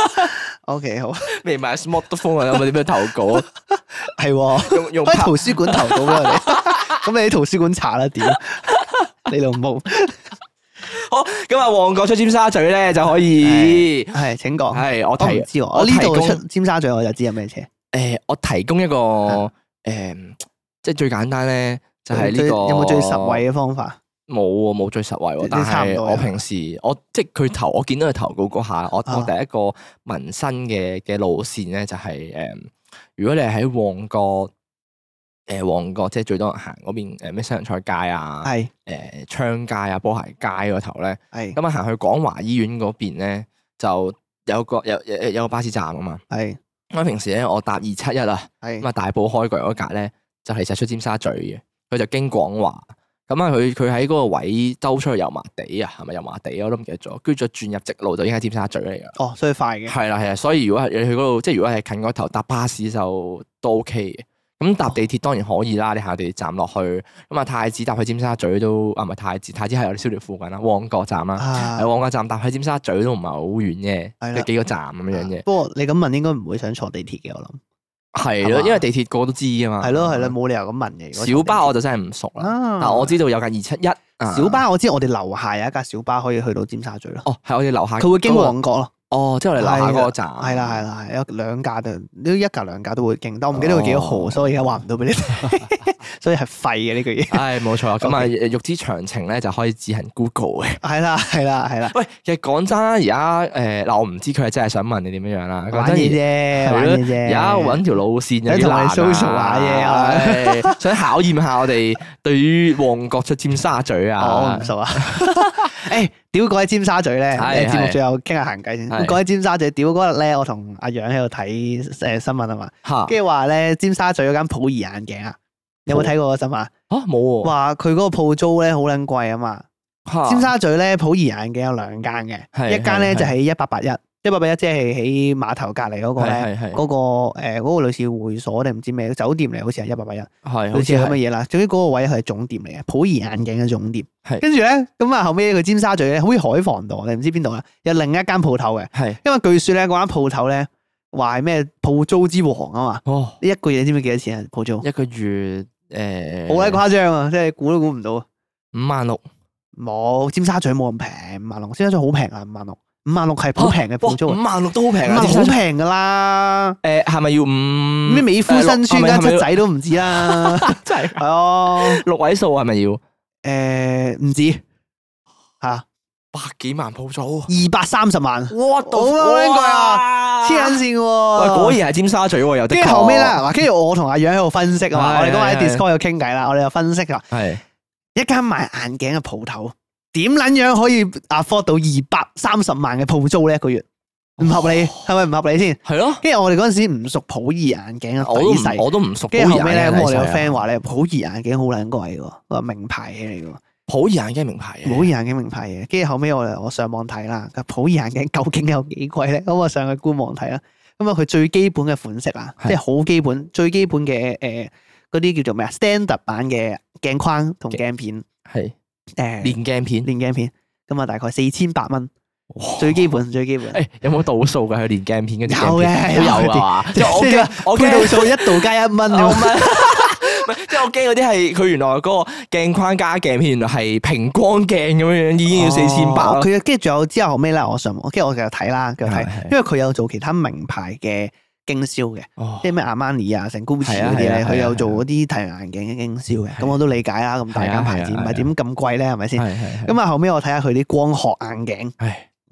？OK 好， 未買 smartphone 啊？有冇點樣投稿啊？ 係用用喺圖書館投稿俾我哋。咁你喺圖書館查啦，屌你老母！ 好，咁啊，旺角出尖沙咀咧就可以， 係請講。 係我提， 我唔知我呢度出尖沙咀我就知有咩車。 誒，我提供一個誒，即係最簡單咧，就係呢個有冇最實惠嘅方法？ 冇喎，冇最實惠喎。但係我平時我即係佢投，我見到佢投稿嗰下，我我第一個民生嘅嘅路線咧就係誒，如果你係喺旺角。誒旺角即係最多人行嗰邊誒咩西洋菜街啊，係誒昌街啊、波鞋街嗰頭咧，係咁啊行去廣華醫院嗰邊咧，就有個有有有個巴士站啊嘛，係咁平時咧我搭二七一啊，係咁啊大埔開櫃嗰格咧就係就出尖沙咀嘅，佢就經廣華，咁啊佢佢喺嗰個位兜出去油麻地啊，係咪油麻地我都唔記得咗，跟住再轉入直路就已經喺尖沙咀嚟噶，哦，所以快嘅，係啦係啊，所以如果係你去嗰度，即係如果係近嗰頭搭巴士就都 OK 嘅。咁搭地鐵當然可以啦，你下地鐵站落去，咁啊太子搭去尖沙咀都啊唔係太子，太子係我哋燒寮附近啦，旺角站啦，喺旺角站搭去尖沙咀都唔係好遠嘅，有幾個站咁樣嘅。不過你咁問應該唔會想坐地鐵嘅，我諗係咯，因為地鐵個個都知啊嘛。係咯係咯，冇理由咁問嘅。小巴我就真係唔熟啦，但我知道有架二七一。小巴我知我哋樓下有一架小巴可以去到尖沙咀咯。哦，係我哋樓下。佢會經旺角咯。哦，即係我哋樓下嗰個站，係啦係啦係，有兩架都，呢一架兩架都會經，但我唔記得佢幾多號，所以而家話唔到俾你聽，所以係廢嘅呢句嘢。係冇錯，咁啊欲知詳情咧就可以自行 Google 嘅。係啦係啦係啦。喂，其實講真啦，而家誒嗱，我唔知佢係真係想問你點樣樣啦。玩嘢啫，玩嘢啫。而家搵條路線有啲難啊。同你 social 下嘢啊，想考驗下我哋對於旺角出尖沙咀啊。我唔熟啊。誒，屌講起尖沙咀咧，節目最後傾下閒偈先。講起尖沙咀，屌嗰日咧，我同阿楊喺度睇誒新聞啊嘛，跟住話咧尖沙咀嗰間普怡眼鏡啊，有冇睇過個新聞啊？吓冇喎。話佢嗰個鋪租咧好撚貴啊嘛。尖沙咀咧普怡眼鏡有兩間嘅，一間咧就喺一八八一。一八八一即係喺碼頭隔離嗰個咧，嗰個誒嗰個類似會所定唔知咩酒店嚟，好似係一八八一，係好似係咁嘅嘢啦。總之嗰個位係總店嚟嘅，普怡眼鏡嘅總店。係跟住咧，咁啊後尾佢尖沙咀咧，好似海防道，你唔知邊度啊？有另一間鋪頭嘅，係因為據說咧嗰間鋪頭咧話係咩鋪租之王啊嘛。哦，呢一個月你知唔知幾多錢啊？鋪租一個月誒，好鬼誇張啊！即係估都估唔到，五萬六冇，尖沙咀冇咁平，五萬六，尖沙咀好平啊，五萬六。五萬六係好平嘅鋪租，五萬六都好平啊，好平噶啦。誒，係咪要五咩美孚新村間七仔都唔知啦，真係係啊，六位數係咪要？誒，唔止吓，百幾萬鋪租，二百三十萬，哇，好貴啊，黐緊線喎。喂，果然係尖沙咀喎，又跟住後尾啦，嗱，跟住我同阿楊喺度分析啊嘛，我哋嗰日喺 Discord 度傾偈啦，我哋又分析啊，係一間賣眼鏡嘅鋪頭。點撚樣可以 afford 到二百三十萬嘅鋪租咧？一個月唔合理，係咪唔合理先？係咯。跟住我哋嗰陣時唔熟普怡眼鏡啊，底細我都唔熟。跟住後尾咧，咁我哋個 friend 話咧，普怡眼鏡好撚貴喎，話名牌嘢嚟嘅喎。普怡眼鏡名牌嘢，普怡眼鏡名牌嘢。跟住後尾我哋我上網睇啦，普怡眼鏡究竟有幾貴咧？咁我上去官網睇啦。咁啊，佢最基本嘅款式啊，即係好基本、最基本嘅誒嗰啲叫做咩啊 ？standard 版嘅鏡框同鏡片係。誒，連鏡片，連鏡片，咁啊，大概四千八蚊，最基本，最基本。誒，有冇度數噶？佢連鏡片嗰啲有嘅，都有啊。即係我驚，我驚度數一度加一蚊咁。唔係，即係我驚嗰啲係佢原來嗰個鏡框加鏡片，原來係平光鏡咁樣樣，已經要四千八。佢跟住仲有之後後尾咧，我上網，跟住我繼續睇啦，繼續睇，因為佢有做其他名牌嘅經銷嘅，即係咩阿瑪尼啊、成 Gucci 嗰啲咧，佢有做嗰啲太陽眼鏡嘅經銷嘅，咁我都理解啦。咁大間牌子唔係點咁貴咧，係咪先？咁啊後尾我睇下佢啲光學眼鏡，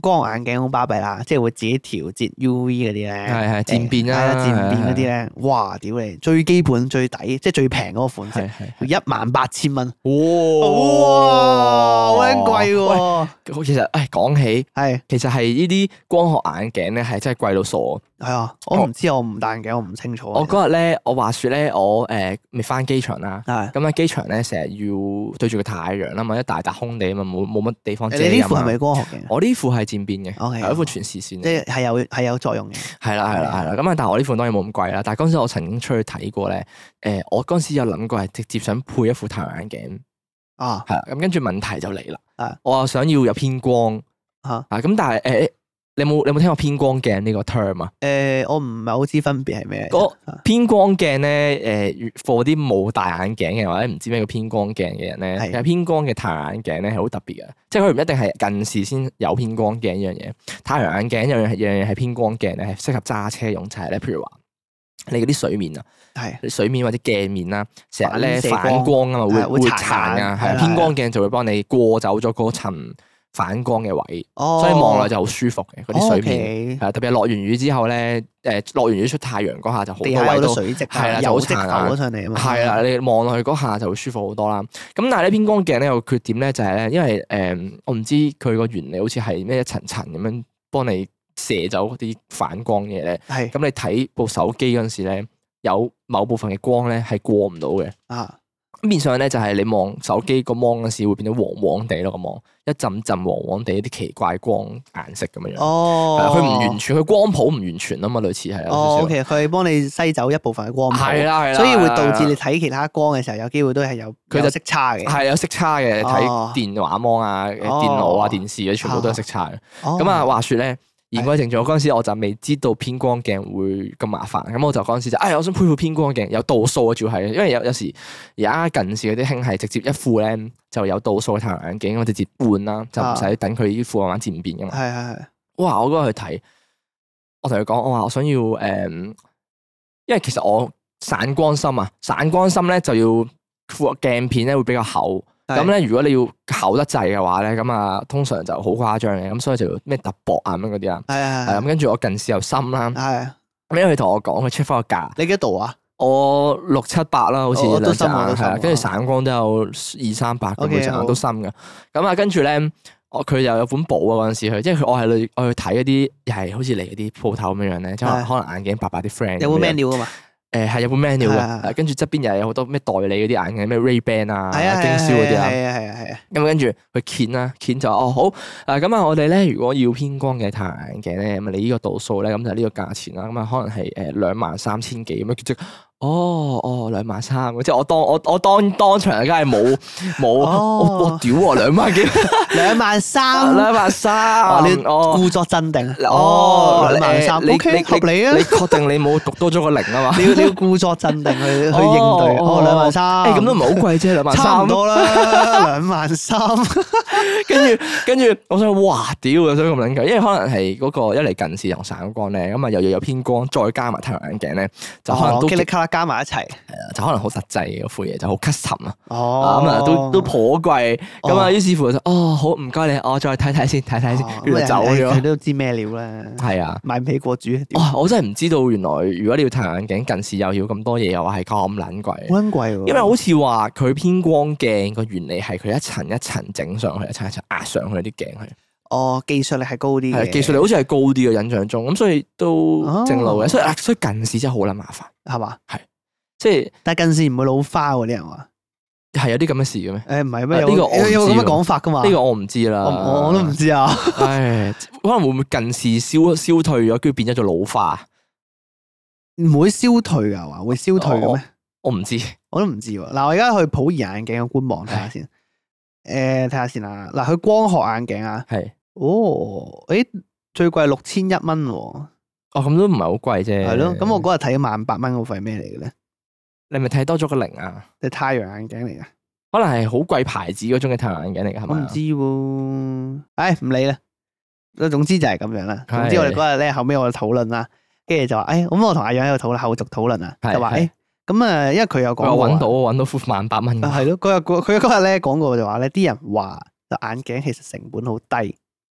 光學眼鏡好巴閉啦，即係會自己調節 U V 嗰啲咧， 係係漸變啦， 係啊漸變嗰啲咧，哇！屌你，最基本最抵，即係最平嗰個款式，一萬八千蚊，哇！好撚貴喎。 其實誒講起係， 其實係呢啲光學眼鏡咧係真係貴到傻。 係啊，我唔知，我唔戴眼鏡，我唔清楚。 我嗰日咧，我話説咧，我誒未翻機場啦，咁喺機場咧成日要對住個太陽啦嘛，一大笪空地啊嘛，冇冇乜地方遮。 你呢副係咪光學鏡？ 我呢副係漸變嘅， 係一副全視線， 即係係有係有作用嘅。 係啦係啦係啦，咁啊，但係我呢副當然冇咁貴啦。但係嗰陣時我曾經出去睇過咧，誒，我嗰陣時有諗過係直接想配一副太陽眼鏡啊， 係啦，咁跟住問題就嚟啦，我又想要有偏光啊，咁但係誒。你有冇你有冇聽過偏光鏡呢個 term 啊？ 誒，我唔係好知分別係咩。 嗰偏光鏡咧，誒，for 啲冇戴眼鏡嘅或者唔知咩叫偏光鏡嘅人咧，其實偏光嘅太陽眼鏡咧係好特別嘅，即係佢唔一定係近視先有偏光鏡呢樣嘢。太陽眼鏡有樣樣嘢係偏光鏡咧，係適合揸車用，就係咧，譬如話你嗰啲水面啊，係水面或者鏡面啦，成日咧反光啊嘛，會會殘啊，係偏光鏡就會幫你過走咗嗰層反光嘅位，所以望落就好舒服嘅嗰啲水面，係特別係落完雨之後咧，誒落完雨出太陽嗰下就好多位都水漬， 係啦，就好殘啊上嚟啊嘛， 係啦，你望落去嗰下就會舒服好多啦。咁但係咧偏光鏡咧有個缺點咧就係咧，因為誒我唔知佢個原理好似係咩一層層咁樣幫你射走嗰啲反光嘢咧，係咁你睇部手機嗰陣時咧，有某部分嘅光咧係過唔到嘅啊。咁變相咧就係你望手機個芒嗰時會變到黃黃地咯，個芒一陣陣黃黃地一啲奇怪光顏色咁樣樣。哦，佢唔完全，佢光譜唔完全啊嘛，類似係。 哦，OK，佢幫你篩走一部分嘅光譜。 係啦係啦。 所以會導致你睇其他光嘅時候，有機會都係有佢有色差嘅。 係有色差嘅，睇電話芒啊、電腦啊、電視嗰啲全部都有色差嘅。咁啊，話説咧。言歸正傳，嗰陣時我就未知道偏光鏡會咁麻煩，咁我就嗰陣時就，哎，我想配副偏光鏡，有度數嘅，主要係，因為有有時而家近視嗰啲興係直接一副咧就有度數嘅太陽眼鏡，我直接換啦，就唔使等佢呢副慢慢漸變噶嘛。係係係。哇！我嗰日去睇，我同佢講，我話我想要誒、嗯，因為其實我散光深啊，散光深咧就要副鏡片咧會比較厚。咁咧，如果你要厚得滯嘅話咧，咁啊，通常就好誇張嘅，咁所以就要咩特薄啊咁樣嗰啲啊。係係係。咁跟住我近視又深啦。係。咁因為佢同我講，佢 check 翻個價。你幾多度啊？我六七百啦，好似兩隻眼係啊。跟住散光都有二三百咁嘅隻都深嘅。咁啊，跟住咧，我佢又有本簿啊嗰陣時去，即係佢我係去我去睇嗰啲又係好似嚟嗰啲鋪頭咁樣樣咧，即係可能眼鏡白白啲 friend。有冇 menu 噶嘛？誒係有本 menu 嘅，跟住側邊又有好多咩代理嗰啲眼鏡，咩 Ray-Ban 啊、經銷嗰啲啊。係啊係啊係啊。咁跟住佢鉗啦，鉗就哦好，誒咁啊我哋咧如果要偏光嘅太陽眼鏡咧，咁啊你呢個度數咧，咁就呢個價錢啦，咁啊可能係誒兩萬三千幾咁樣，即係哦哦兩萬三，即係我當我我當當場梗係冇冇，我我屌喎兩萬幾，兩萬三兩萬三，你故作鎮定哦兩萬三，O K合理啊，你確定你冇讀多咗個零啊嘛？你要故作鎮定去去應對，哦兩萬三，誒咁都唔係好貴啫，兩萬三差唔多啦，兩萬三，跟住跟住我想哇屌啊，想咁撚貴，因為可能係嗰個一嚟近視同散光咧，咁啊又要有偏光，再加埋太陽眼鏡咧，就可能都加埋一齊，係啊，就可能好實際嘅嗰副嘢，就好 custom 啊，咁啊都都頗貴，咁啊於是乎就哦好唔該你，我再睇睇先，睇睇先，跟住走咗。佢都知咩料啦，係啊，買唔起過主。哇！我真係唔知道原來如果你要太陽眼鏡近視又要咁多嘢，又話係咁撚貴，好撚貴喎。因為好似話佢偏光鏡個原理係佢一層一層整上去，一層一層壓上去啲鏡去。哦，技術力係高啲嘅，技術力好似係高啲嘅印象中，咁所以都正路嘅，所以所以近視真係好撚麻煩，係嘛？係，即係但係近視唔會老花喎，啲人話係有啲咁嘅事嘅咩？誒唔係咩？呢個我有咁嘅講法噶嘛？呢個我唔知啦，我我都唔知啊。唉，可能會唔會近視消消退咗，跟住變咗做老花？唔會消退噶話，會消退嘅咩？我唔知，我都唔知喎。嗱，我而家去普怡眼鏡嘅官網睇下先。誒，睇下先啦。嗱，佢光學眼鏡啊，係哦，誒，最貴六千一蚊喎。哦，咁都唔係好貴啫。係咯，咁我嗰日睇萬八蚊嗰塊咩嚟嘅咧？你咪睇多咗個零啊？即係太陽眼鏡嚟噶？可能係好貴牌子嗰種嘅太陽眼鏡嚟嘅，係咪？我唔知喎。唉，唔理啦。總之就係咁樣啦。總之我哋嗰日咧後尾我哋討論啦，跟住就話，誒，咁我同阿楊喺度討論後續討論啊，就話誒。咁啊，因為佢有講過，搵到搵到副萬八蚊。係咯，嗰日佢嗰日咧講過就話咧，啲人話眼鏡其實成本好低，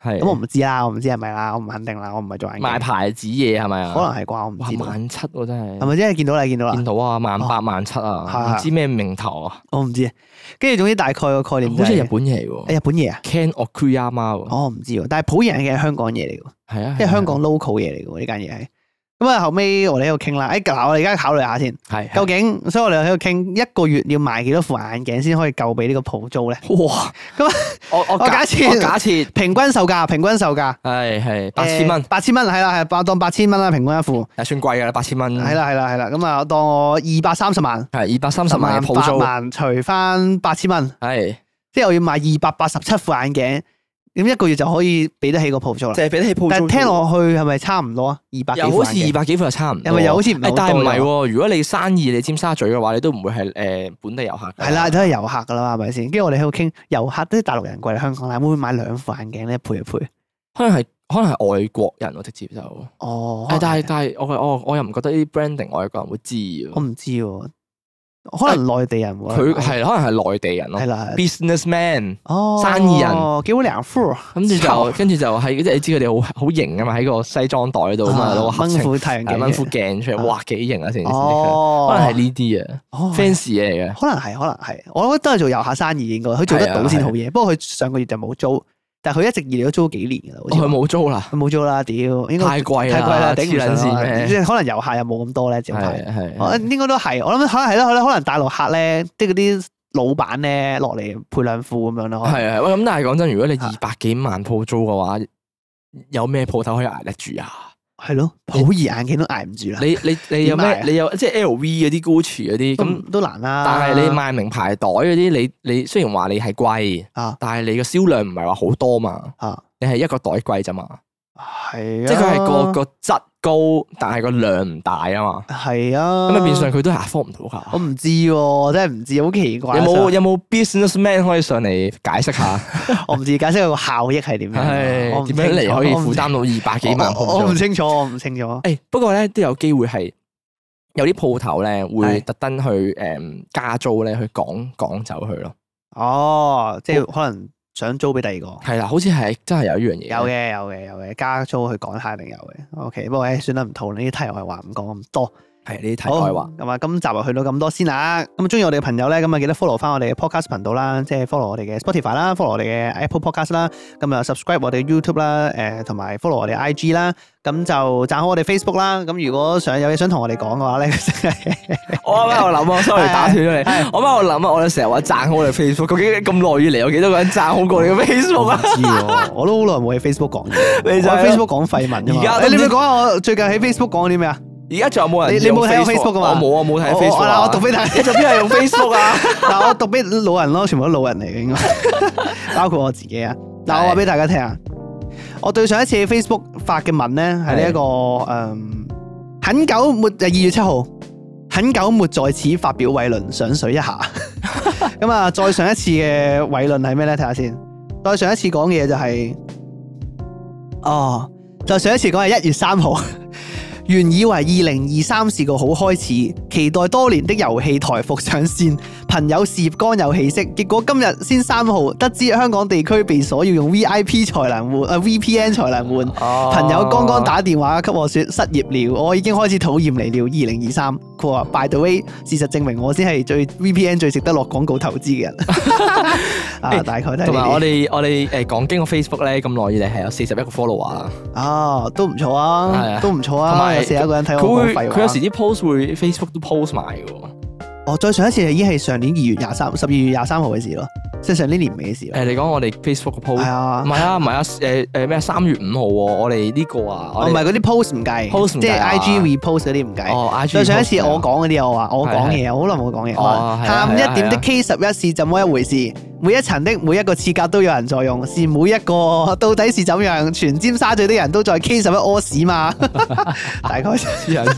係咁我唔知啦，我唔知係咪啦，我唔肯定啦，我唔係做眼鏡。 賣牌子嘢係咪啊？ 可能係啩，我唔知。 萬七喎真係。 係咪真係見到啦？見到啦。 見到啊，萬八萬七啊，唔知咩名頭啊。 我唔知。跟住總之大概個概念就係。 好似日本嘢嚟喎。 日本嘢啊 Ken Okuyama 喎。 我唔知喎，但係普眼鏡係香港嘢嚟㗎。 係啊。 即係香港 local 嘢嚟㗎喎，呢間嘢係。咁啊，後尾我哋喺度傾啦。誒，嗱，我哋而家考慮下先。 係。 究竟，所以我哋喺度傾一個月要賣幾多副眼鏡先可以夠俾呢個鋪租咧？ 哇！ 咁我我我假設假設平均售價，平均售價係係八千蚊， 八千蚊係啦，係當當八千蚊啦，平均一副。 係算貴㗎啦，八千蚊。 係啦係啦係啦，咁啊，當我二百三十萬。 係二百三十萬嘅鋪租。 八萬除翻八千蚊。 係。 即係我要賣二百八十七副眼鏡。咁一個月就可以俾得起個鋪租啦， 就係俾得起鋪租。 但係聽落去係咪差唔多啊？二百幾副眼鏡， 又好似二百幾副又差唔多。 係咪又好似唔係好多？ 但係唔係喎？如果你生意你尖沙咀嘅話，你都唔會係誒本地遊客。 係啦，都係遊客噶啦嘛，係咪先？跟住我哋喺度傾遊客，啲大陸人過嚟香港啦，會唔會買兩副眼鏡咧？配一配？ 可能係可能係外國人喎，直接就。 哦。 但係但係我我我又唔覺得呢啲 branding 外國人會知喎。 我唔知喎。可能內地人喎， 佢係可能係內地人咯， 係啦 ，businessman， 哦， 生意人， 幾好兩副， 跟住就跟住就係即係你知佢哋好好型啊嘛，喺個西裝袋度啊嘛，攞個合掹副太陽鏡， 掹副鏡出嚟，哇幾型啊成件事， 哦， 可能係呢啲啊，fans 嘢嚟嘅， 可能係可能係，我覺得都係做遊客生意應該，佢做得到先好嘢。不過佢上個月就冇租，但係佢一直以嚟都租咗幾年噶啦， 佢冇租啦， 佢冇租啦，屌，應該太貴啦， 太貴啦，頂唔順，即係可能遊客又冇咁多咧，就係係，應該都係，我諗可能係咯，可能大陸客咧，即係嗰啲老闆咧落嚟配兩副咁樣咯。係啊，喂，咁但係講真，如果你二百幾萬鋪租嘅話，有咩鋪頭可以捱得住啊？ 係咯，好易眼鏡都捱唔住啦。 你你你有咩？你有即係 L V 嗰啲、Gucci 嗰啲咁都難啦。 但係你賣名牌袋嗰啲，你你雖然話你係貴啊，但係你個銷量唔係話好多嘛。啊，你係一個袋貴咋嘛？ 係啊， 即係佢係個個質高，但係個量唔大啊嘛。 係啊， 咁啊變相佢都係 afford 唔到噶。 我唔知喎，真係唔知，好奇怪。 有冇有冇 businessman 可以上嚟解釋下？ 我唔知解釋佢個效益係點樣。 係點樣嚟可以負擔到二百幾萬鋪租？ 我唔清楚，我唔清楚。 誒，不過咧都有機會係有啲鋪頭咧會特登去誒加租咧去趕趕走佢咯。哦， 即係可能。想租俾第二個， 係啦，好似係真係有呢樣嘢。 有嘅，有嘅，有嘅，加租去講下定有嘅。OK，不過誒，算啦，唔討論呢啲題外話，唔講咁多。 係呢啲題外話。 咁啊，今集就去到咁多先啦。咁啊，中意我哋嘅朋友咧，咁啊記得 follow 翻我哋嘅 podcast 頻道啦，即係 follow 我哋嘅 Spotify 啦 ，follow 我哋嘅 Apple Podcast 啦，咁啊 subscribe 我哋 YouTube 啦，誒同埋 follow 我哋 I G 啦，咁就讚好我哋 Facebook 啦。咁如果想有嘢想同我哋講嘅話咧， 我啱啱喺度諗啊，sorry 打斷咗你。我啱喺度諗啊，我哋成日話讚好我哋 Facebook，究竟咁耐以嚟有幾多個人讚好過你嘅 Facebook 啊？ 唔知喎，我都好耐冇喺 Facebook 講嘢， 你就喺 Facebook 講廢文啫嘛。而家你咪講下我最近喺 Facebook 講啲咩啊？ 而家仲有冇人？ 你你冇睇我 Facebook 噶嘛？ 我冇啊，冇睇 Facebook 啊！ 我讀俾大家， 你做邊係用 Facebook 啊？ 嗱，我讀俾老人咯，全部都老人嚟嘅應該，包括我自己啊。嗱，我話俾大家聽啊，我對上一次喺 Facebook 發嘅文咧，係呢一個誒，很久沒誒二月七號，很久沒在此發表偉論，上水一下。咁啊，再上一次嘅偉論係咩咧？睇下先。再上一次講嘅嘢就係，哦，再上一次講係一月三號。原以為二零二三是個好開始，期待多年的遊戲台服上線，朋友事業剛有起色。結果今日先三號，得知香港地區被鎖要用 V I P 才能換，啊 V P N 才能換。哦、朋友剛剛打電話給我說失業了，我已經開始討厭你了。二零二三，佢話 By the way，事實證明我先係最 V P N 最值得落廣告投資嘅人。啊，大概都係。同埋我哋我哋誒講經過 Facebook 咧咁耐以嚟係有四十一個 follower 啊。 啊，都唔錯啊，都唔錯啊。有一個人睇我講廢話， 佢有時啲 post 會 Facebook 都 post 埋嘅喎。 哦，再上一次已經係上年二月廿三、十二月廿三號嘅事咯，即係上年年尾嘅事。 誒，你講我哋 Facebook 嘅 post 係啊，唔係啊，唔係啊，誒誒咩三月五號喎，我哋呢個啊， 哦唔係嗰啲 post 唔計，即係 I G repost 嗰啲唔計。哦，I G。再上一次我講嗰啲我話我講嘢，好耐冇講嘢。哦，喊一點的 K 十一是怎麼一回事？每一層的每一個廁格都有人在用，是每一個到底是怎樣？全尖沙咀的人都在 K 十一屙屎嘛？大概黐人。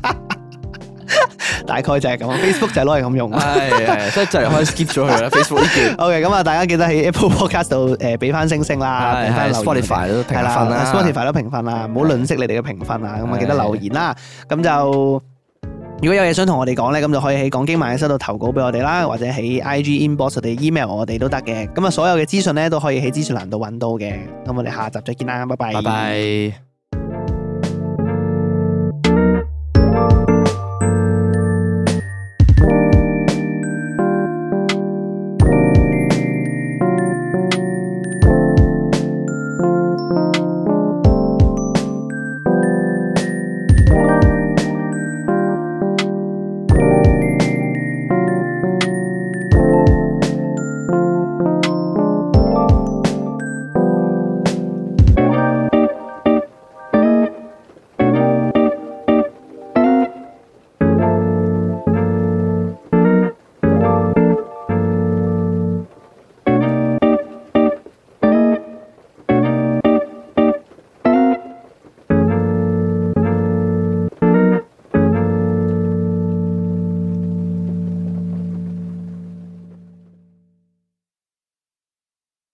大概就係咁 ，Facebook 就係攞嚟咁用。係係，所以就嚟可以 skip 咗佢啦。Facebook 呢段。OK，咁啊，大家記得喺 Apple Podcast 度誒俾翻星星啦，俾翻 Spotify 都評分啦 ，Spotify 都評分啦，唔好吝嗇你哋嘅評分啊。咁啊，記得留言啦。咁就如果有嘢想同我哋講咧，咁就可以喺講經萬應室度投稿俾我哋啦，或者喺 I G inbox 我哋 email 我哋都得嘅。咁啊，所有嘅資訊咧都可以喺資訊欄度揾到嘅。咁我哋下集再見啦，拜拜。 拜拜。